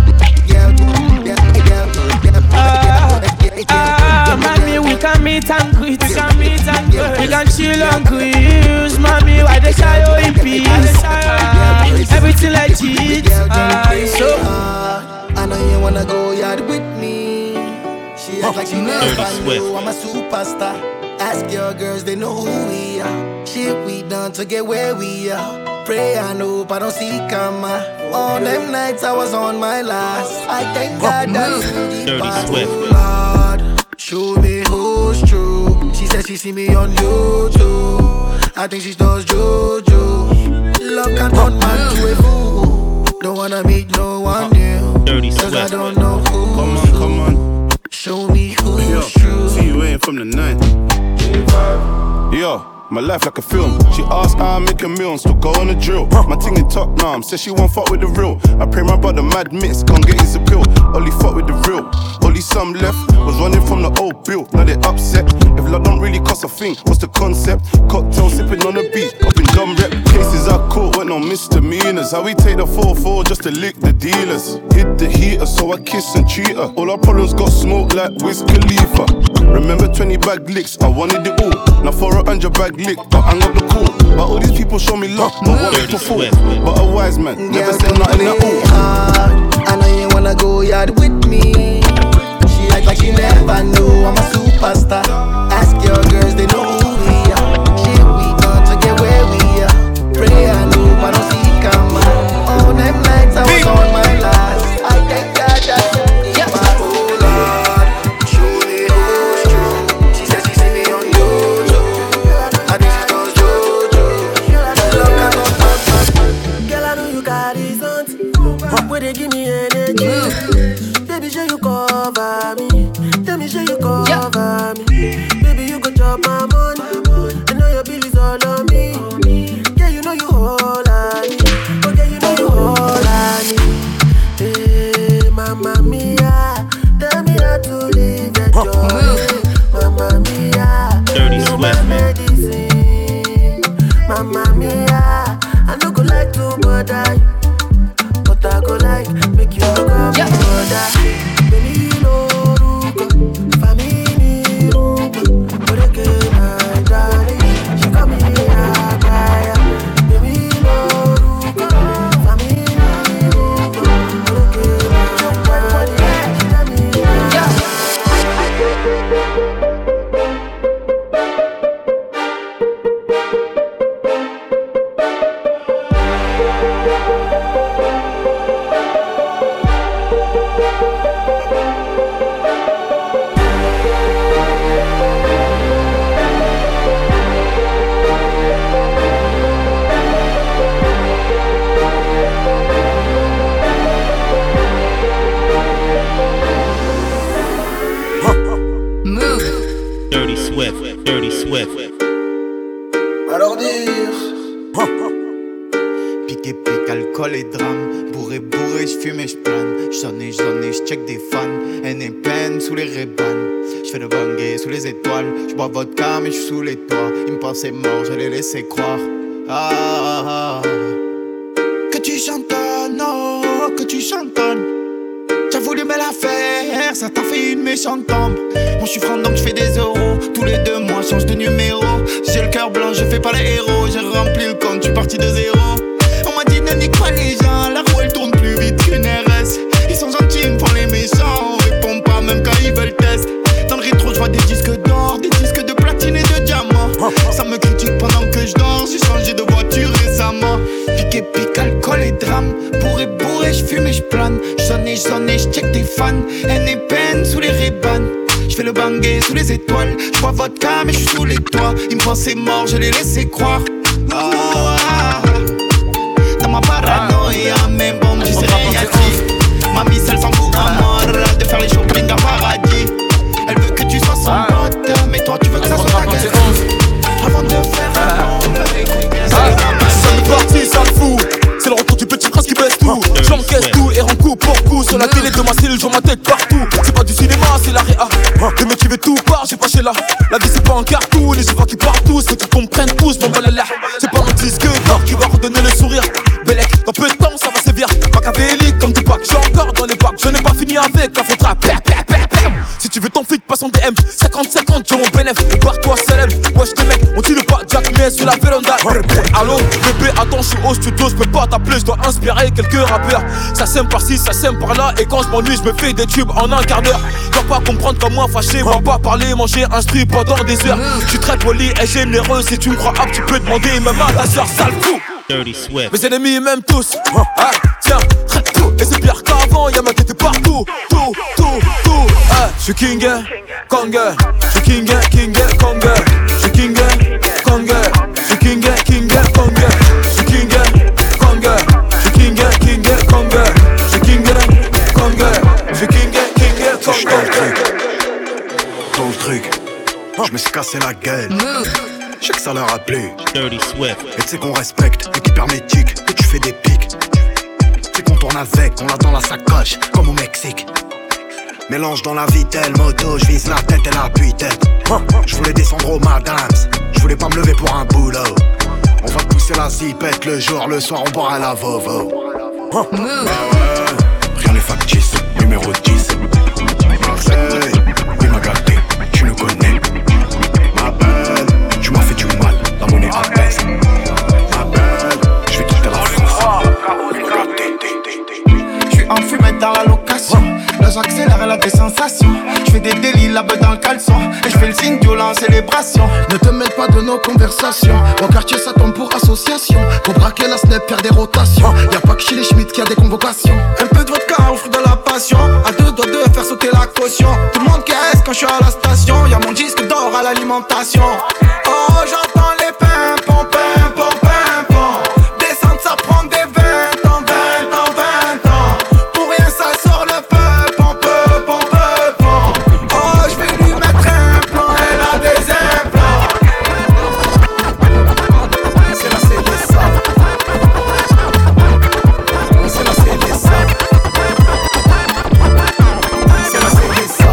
Mommy, we can meet and greet. We can chill and cruise. Mommy, why they shy you in peace? Everything legit. So I know you wanna go yard with me. She act like she never knew I'm a superstar. Ask your girls, they know who we are. Shit we done to get where we are. Pray and hope I don't see karma. All them nights I was on my last. I thank God that Dirty Swift. Lord, show me who's true. She said she see me on YouTube. I think she does JoJo. Love can turn man to a fool. Don't wanna meet no one new. Dirty Cause I Swift. don't know who. Come on. Show me who's true. See you waiting from the night. Yo, my life like a film. She asked how I make a meal and still go on the drill. My ting in top now, says she won't fuck with the real. I pray my brother mad mix, can't get his appeal. Only fuck with the real. Only some left, was running from the old bill. Now they upset. If love don't really cost a thing, what's the concept? Cocktail sipping on the beat, up in dumb rep. Cases I caught went on misdemeanors. How we take the 4-4 just to lick the dealers. Hit the heater, so I kiss and treat her. All our problems got smoke like Wiz Khalifa. Remember 20 bag licks, I wanted it all. Now for 100 bag lick, but I got the call. But all these people show me love, but what they perform. But a wise man, never said nothing at all. I know you wanna go yard with me. She act like she never knew I'm a superstar. Ask your girls, they know who we are. Shit we done to get where we are. Pray and hope I don't see karma. All them nights I was on my last. I thank God that they give me energy. Baby, show you cover me. Tell me, show you cover me. Baby, you go chop my money. I know your bill is all on me. Yeah, you know you hold on me. Okay, you know you hold on me. Hey, Mamma Mia, tell me how to live and joy. Mamma Mia, Dirty Swift. medicine. Mamma Mia, I no go like to bother you. I go like, make you look up my brother. Baby, no ruko, family ruko. But again, my darling, she come here, kaya. Baby, no ruko, family ruko. But again, my darling, she come Dirty Swift. Alors dire. Piqué, pique, alcool et drame. Bourré, j'fume et j'plane. J'sonne et j'check des fans. Haine et peine sous les rébans. J'fais le bangé sous les étoiles. J'bois vodka mais j'suis sous les toits. Ils me pensaient mort, je les laissais croire. Que tu chantonnes, oh, que tu chantonnes. J'ai voulu mettre belle affaire, ça t'a fait une méchante tombe. Moi je suis franc donc je fais des euros. Tous les 2 mois change de numéro. J'ai le cœur blanc, je fais pas les héros. J'ai rempli le compte, je suis parti de zéro. On m'a dit ne nique pas les gens, la roue elle tourne plus vite qu'une RS. Ils sont gentils, ils me font les méchants. On répond pas même quand ils veulent test. Dans le rétro je vois des disques d'or, des disques de platine et de diamant. Ça me critique pendant que je dors, j'ai changé de voiture récemment. Pique, alcool et drame. Bourré, je fume et je plane. J'sonne et je check des fans. Haine et peine sous les Ray-Ban. J'fais le bangé sous les étoiles. J'bois vodka mais j'suis sous les toits. Ils me pensaient mort, je les laissais croire. Dans ma paranoïa, même bon, j'y sais rien dit. Mamie seule s'en fout à mort de faire les shopping à paradis. Elle veut que tu sois son pote, mais toi tu veux que ça soit ta gueule. Avant de faire un homme, c'est parti, ça me fout. C'est le retour du petit prince qui baisse tout. J'encaisse tout et rends coup pour coup. Sur la télé de ma cellule, j'en ma tête partout. C'est pas du cinéma, c'est la réa. Le mec qui veut tout part, j'ai pas chez là. La vie c'est pas un cartoon, les vois qui partent tous. Faut qu'ils comprennent tous, mon balala. C'est pas un disque d'or qui va redonner le sourire. Bellec, dans peu de temps ça va sévir. Machiavélique comme Tupac, j'ai encore dans les bacs. Je n'ai pas fini avec la faudra. Si tu veux ton feed, passe en DM. 50-50, j'ai mon bénéf. Barre-toi, célèbre. Wesh, tes mecs, on tire le pas Jack, mais sur la véranda. Allô, bébé, attends, je suis au studio, je peux pas t'appeler, je dois inspirer quelques rappeurs. Ça sème par-ci, ça sème par-là. Et quand je m'ennuie, je me fais des tubes en un quart d'heure. Tu vas pas comprendre comme moi, fâché. Va pas parler, manger un strip pendant des heures. Je suis très poli et généreux. Si tu me crois apte, tu peux demander même à ta soeur, sale fou. Dirty Swift. Mes ennemis m'aiment tous. Ah, tiens, traite tout. Et c'est pire qu'avant, y'a ma tête partout. Tout. Ah, je suis King, Kong. Je suis King, Kong. Je suis King, Kong. Je suis King, Kong. Je suis King, Kong. Je suis King, Kong. Je suis King, Kong. Je suis King, Kong. Dans le truc, je me suis cassé la gueule. Je sais que ça leur a plu. Dirty Swift. Et tu sais qu'on respecte l'équipe hermétique, que tu fais des pics. Tu sais qu'on tourne avec, on l'a dans la sacoche, comme au Mexique. Mélange dans la vitelle, moto, je vise la tête et la tête. Je voulais descendre au Madams, je voulais pas me lever pour un boulot. On va pousser la zipette le jour, le soir on boira la Vovo. Rien n'est factice, numéro 10. Marseille, il m'a gâté, tu le connais. Ma belle, tu m'as fait du mal, la monnaie abaisse. Ma belle, je vais quitter la France. Il m'a gâté. Je suis en fumette dans la location. Là j'accélère, elle a des sensations. Je fais des délits, la beuh dans le caleçon. Et je fais le signe violent, célébration. Ne te mêle pas de nos conversations. Au quartier ça tombe pour association. Pour braquer la snap, faire des rotations. Y'a pas que chez les Schmitt qui a des convocations. Un peu de vodka, on fruit de la passion. À 2 doigts de faire sauter la caution. Tout le monde caisse quand je suis à la station. Y'a mon disque d'or à l'alimentation. Oh j'entends les pimpons, pimpons, pimpons. Descendre ça prend des 20 ans, 20 ans, 20 ans. Pour rien ça sort le peupon, peupon, peupon. Oh je vais lui mettre un plan, elle a des implants. C'est la CDSA. C'est la CDSA. C'est la CDSA.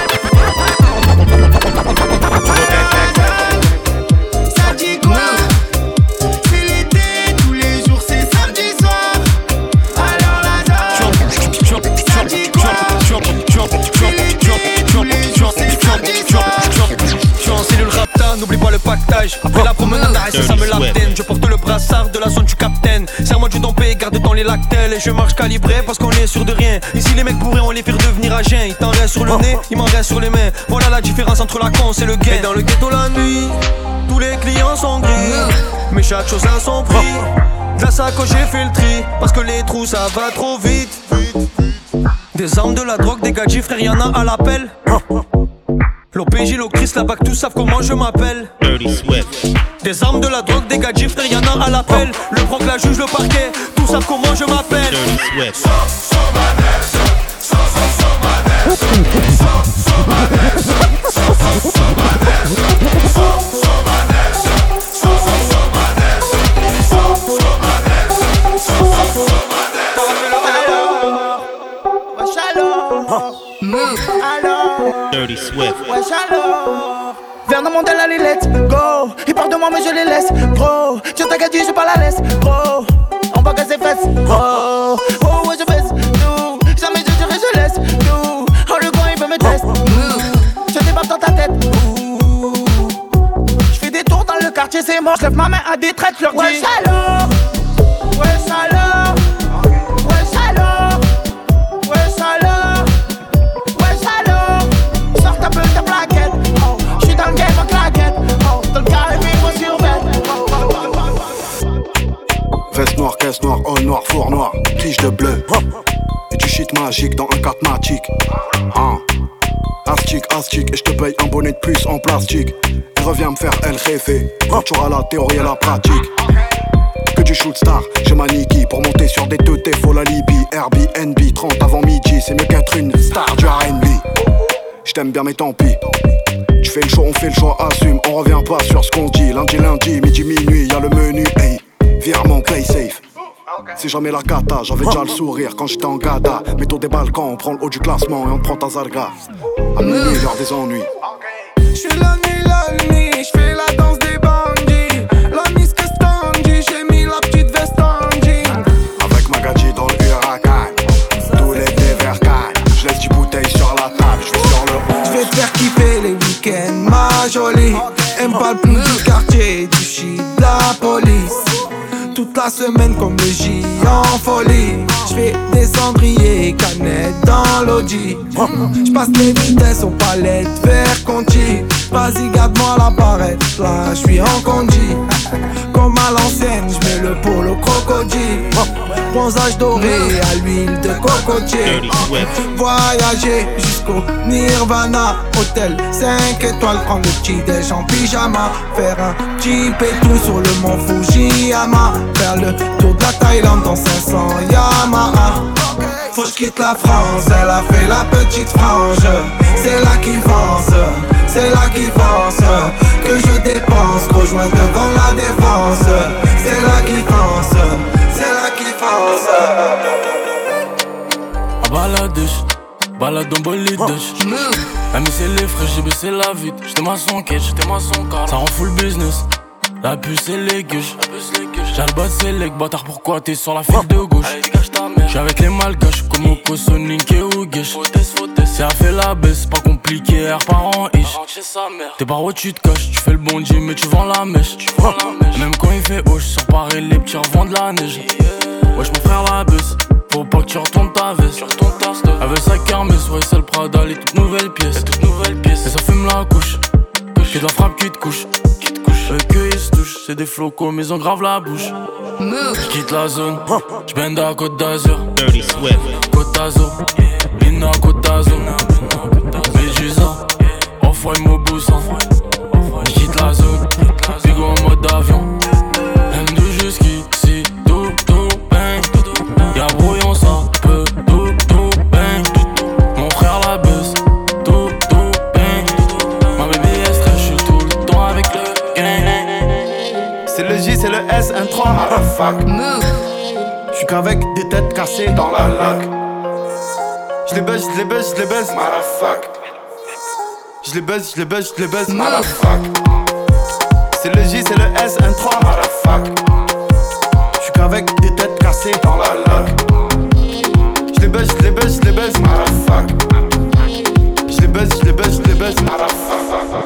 Ça dit quoi? C'est l'été, tous les jours c'est samedi soir. Alors la dame, ça dit quoi? C'est l'été, tous les jours c'est samedi soir. Je suis en cellule rapta, n'oublie pas le pactage. Après la promenade, arrête, ça me l'abdène. Je porte le brassard de la zone du capitaine. Serre-moi du dompé, garde dans les lactelles. Et je marche calibré parce qu'on est sûr de rien. Ici les mecs bourrés, on les fait devenir à jeun. Il t'en reste sur le nez, il m'en reste sur les mains. Voilà la différence entre la con et le gain. Et dans le ghetto la nuit, tous les clients sont gris. Mais chaque chose a son prix. De la sacoche j'ai fait le tri. Parce que les trous ça va trop vite. Des armes, de la drogue, des gadgets, frère y'en a à l'appel. L'OPJ, l'Ocris, la BAC, tous savent comment je m'appelle. Dirty Swift. Des armes, de la drogue, des gadgets, frère y'en a à l'appel. Le proc, la juge, le parquet, tous savent comment je m'appelle. Dirty Swift. Dirty Swift. Wesh alors. Viens dans mon del, allez let's go. Ils parlent de moi mais je les laisse, gros. Tiens ta gadget, je pas la laisse, gros. On va casser fesses, oh. Oh ouais je baisse, nous. Jamais je dirais je laisse, nous. quartier c'est mort, j'lève ma main à des traites, leur dis ouais salaud, ouais salaud, ouais salaud, ouais salaud, ouais salaud. Sors ta peu ta plaquette, oh, j'suis dans le game en claquette, oh, dans le carré vivre sur bête. Veste noire, caisse noire, all noir, four noir, tige de bleu. Et du shit magique dans un catmatique. Astic, et je te paye un bonnet de plus en plastique. Et reviens me faire El Jefe, toujours à la théorie et la pratique. Que du shoot star, j'ai ma Niki. Pour monter sur des teutés, faut la Libye. Airbnb, 30 avant midi, c'est mieux qu'être une star du R&B. J't'aime bien mais tant pis. Tu fais le choix, on fait le choix, assume. On revient pas sur ce qu'on dit. Lundi, midi, minuit, y'a le menu, hey. Virement, play safe. C'est jamais la cata, j'avais déjà le sourire quand j'étais en gada. Métaux des balcons, on prend le haut du classement et on prend ta zarga. À minuit, l'heure des ennuis. J'fais la nuit, j'fais la danse des bandits. La mise que standy, j'ai mis la petite veste en jean. Avec Magadji dans le huracan, tous les vers cannes. J'laisse 10 bouteilles sur la table, j'vais sur le haut. J'vais te faire kiffer les week-ends, ma jolie. Aime pas le plus du quartier, du shit, de la police. Toute la semaine comme le J en folie. J'fais des cendriers, canettes dans l'audi. J'passe les vitesses aux palettes vers Conti. Vas-y garde-moi la barrette, là j'suis en condi. Comme à l'ancienne, j'mets le polo crocodile. Bronzage doré à l'huile de cocotier. Voyager jusqu'au Nirvana. Hôtel 5 étoiles, prendre le petit déj en pyjama. Faire un petit pétou sur le mont Fujiyama. Faire le tour de la Thaïlande dans 500 Yamaha. Faut que j'quitte la France, elle a fait la petite frange. C'est là qu'il pense, c'est là qu'il pense. Que je dépense, rejoins devant la défense. C'est là qu'il pense, c'est là qu'il pense. À baladèche, balade en bolidèche. La mise c'est les frais, j'ai baissé la vitre. J'étais maçon quête, j'étais maçon car ça rend full business. La puce et les gueuches. J'ai le bas c'est les bâtard, pourquoi t'es sur la file de gauche? J'suis avec les malgaches comme Oko, Sonic et Ougesh. Si elle fait la baisse, pas compliqué, air par en ish. T'es par où tu te caches, tu fais le bon Dieu mais tu vends la mèche. Même quand il fait haut, j'sors pareil les petits revendent la neige. Wesh mon frère la baisse, faut pas que tu retournes ta veste. Elle veut sa kermesse, ouais c'est le Prada, les toutes nouvelles pièces. Et ça fume la couche, que de la frappe qui te couche. Que ils se touchent, c'est des flocos mais ils ont grave la bouche. J'quitte la zone, j'bende à Côte d'Azur. Côte d'Azur, Lina Côte d'Azur. Médusa, Off-White Mobusa. J'quitte la zone, Bigo en mode avion. M2 jusqu'ici, tout bang. Y'a brouillon ça, peu tout bang. Mon frère la baisse, tout bang. Ma baby est stress, j'suis tout le temps avec le gang. C'est le J, c'est le S, un 3, motherfuck. J'suis qu'avec des têtes cassées dans la lac. J'les baise, motherfuck. J'les baise, motherfuck. C'est le J, c'est le S, un 3, motherfuck. J'suis qu'avec des têtes cassées dans la lac. J'les baise, motherfuck. J'les baise, motherfuck.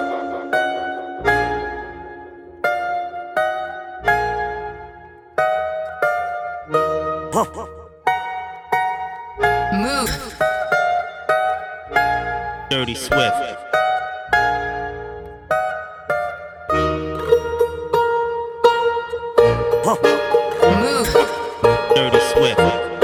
Dirty Swift. Dirty Swift.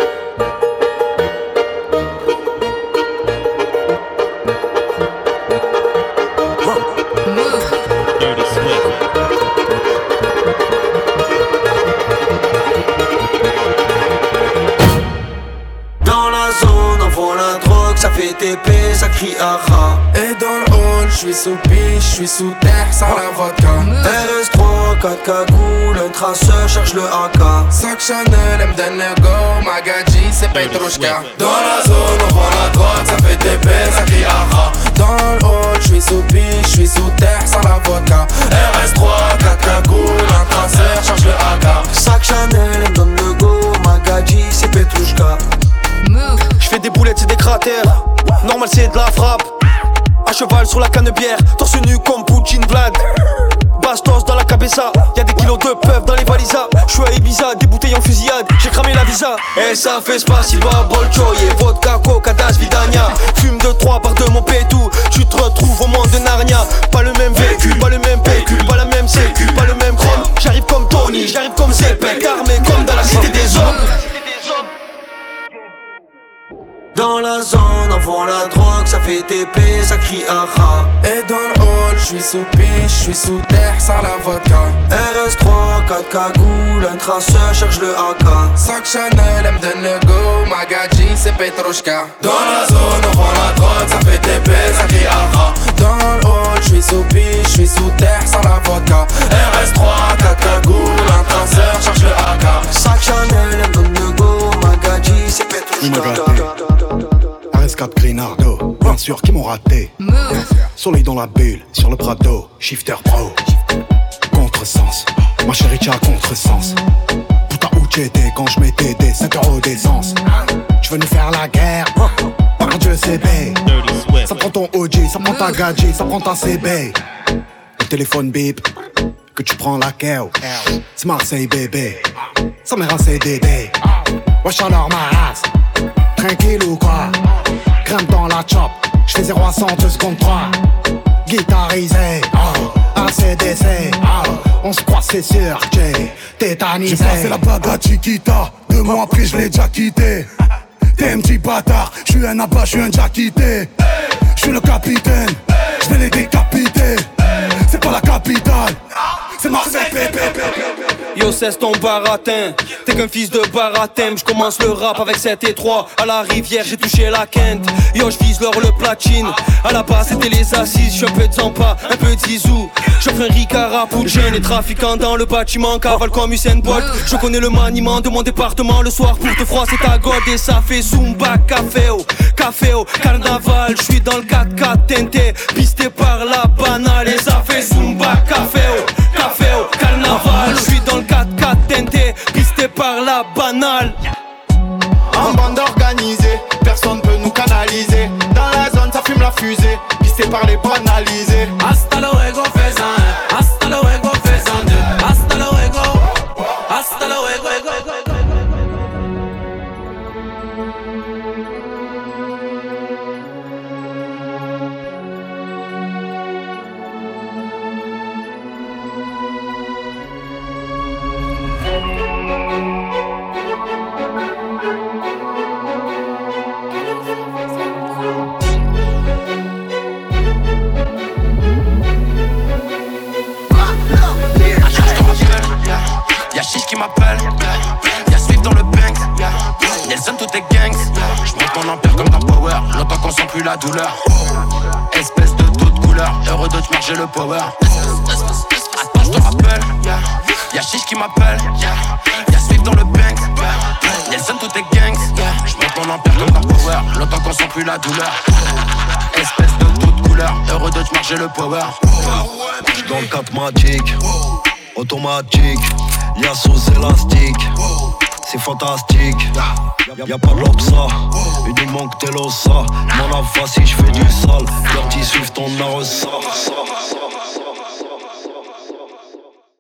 Dirty Swift. Dans la zone, on vend la drogue, ça fait TP, ça crie aha. Et dans le hall, j'suis sous piche, j'suis sous terre, sans la vodka. RS3, 4 cagoules, un traceur, cherche le AK. Sac Chanel, M go, Magadji, c'est Petrushka. Dans la zone, on vend la drogue, ça fait TP, ça crie aha. Dans le hall, j'suis sous piche, j'suis sous terre, sans la vodka. RS3, 4 cagoules, un traceur, cherche le AK. Sac Chanel, me donne le go, Magadji, c'est Petrushka. J'fais des boulettes, c'est des cratères. Normal, c'est de la frappe. À cheval sur la canne bière, torse nu comme Poutine Vlad. bastos dans la cabeza. Y'a des kilos de peuf dans les valisas. J'suis à Ibiza, des bouteilles en fusillade. J'ai cramé la visa. Et ça fait spasiba, bolchoye, vodka, coca, das, vidania. Fume de 3 par de mon pétou. Tu te retrouves au monde de Narnia. Pas le même véhicule, pas le même pécule, pas la même sécu, pas le même chrome. J'arrive comme Tony, j'arrive comme Zepek, armé comme dans la cité des hommes. Dans la zone, on vend la drogue, ça fait TP, ça crie aha. Et dans le hall, j'suis sous piche, j'suis sous terre, sans la vodka. RS3, 4 cagoules, un traceur cherche le AK. Sac Chanel, elle me donne le go, Magadji, c'est Petrushka. Dans la zone, on vend la drogue, ça fait TP, ça crie aha. Dans le hall, j'suis sous piche, j'suis sous terre, sans la vodka. RS3, 4 cagoules, un traceur cherche le AK. Sac Chanel, elle me donne le go, Magadji, c'est Petrushka. RS4 Grinardo, bien sûr qui m'ont raté. Soleil dans la bulle, sur le Prado, shifter pro. Contresens, ma chérie t'as contresens. Putain où t'étais quand je mettais des 5 € d'essence. Tu veux nous faire la guerre, par Dieu c'est bé. Ça prend ton OG, ça prend ta gadget, ça prend ta CB. Le téléphone bip, que tu prends la KO. C'est Marseille bébé, ça mère un CDD. Wesh alors ma race, tranquille ou quoi? Grimpe dans la chop, j'fais 0 à 100 2 secondes 3. Guitarisé, oh, ACDC, oh, on se croit c'est sûr, j'ai tétanisé. J'ai passé la bague à Chiquita, 2 mois après je l'ai déjà quitté. T'es un petit bâtard, j'suis un abat, j'suis un déjà quitté. J'suis le capitaine, j'vais les décapiter. C'est pas la capitale, c'est Marseille, pépé. Yo cesse ton baratin, t'es qu'un fils de baratin. J'commence le rap avec 7 et 3. À la rivière j'ai touché la quinte. Yo j'vise l'or le platine. À la base c'était les assises. J'suis un peu de Zampa, un peu de Zizou. J'offre un Ricard pour Jane. Les trafiquants dans le bâtiment cavale comme Usain Bolt. Je connais le maniement de mon département. Le soir pour te froisser ta gode. Et ça fait Zumba, caféo, carnaval. J'suis dans le 4x4 teinté, pisté par la banale. Et ça fait Zumba, caféo, carnaval. J'suis dans le 4x4 teinté, pisté par la banale. En bande organisée, personne peut nous canaliser. Dans la zone ça fume la fusée, pisté par les banalisés. Hasta luego faisan, hasta luego faisan deux. Hasta luego, hasta luego. Y'a Chiche qui m'appelle, y'a Swift dans le Banks, Nelson tout est gangs. J'monte mon empire comme dans Power, longtemps qu'on sent plus la douleur. Espèce de toute couleur, heureux de te marcher le power. Attends je te rappelle, y'a Chiche qui m'appelle, y'a Swift dans le Banks, Nelson tout est gangs. J'monte mon empire comme dans Power, longtemps qu'on sent plus la douleur. Espèce de toute couleur, heureux de te marcher le power. Dans le 4 magique, automatique, y'a sous élastique, c'est fantastique. Y'a pas de l'obsa, uniquement que t'es l'ossa. Mon avance si j'fais du sale, leur petit suivent ton arresa.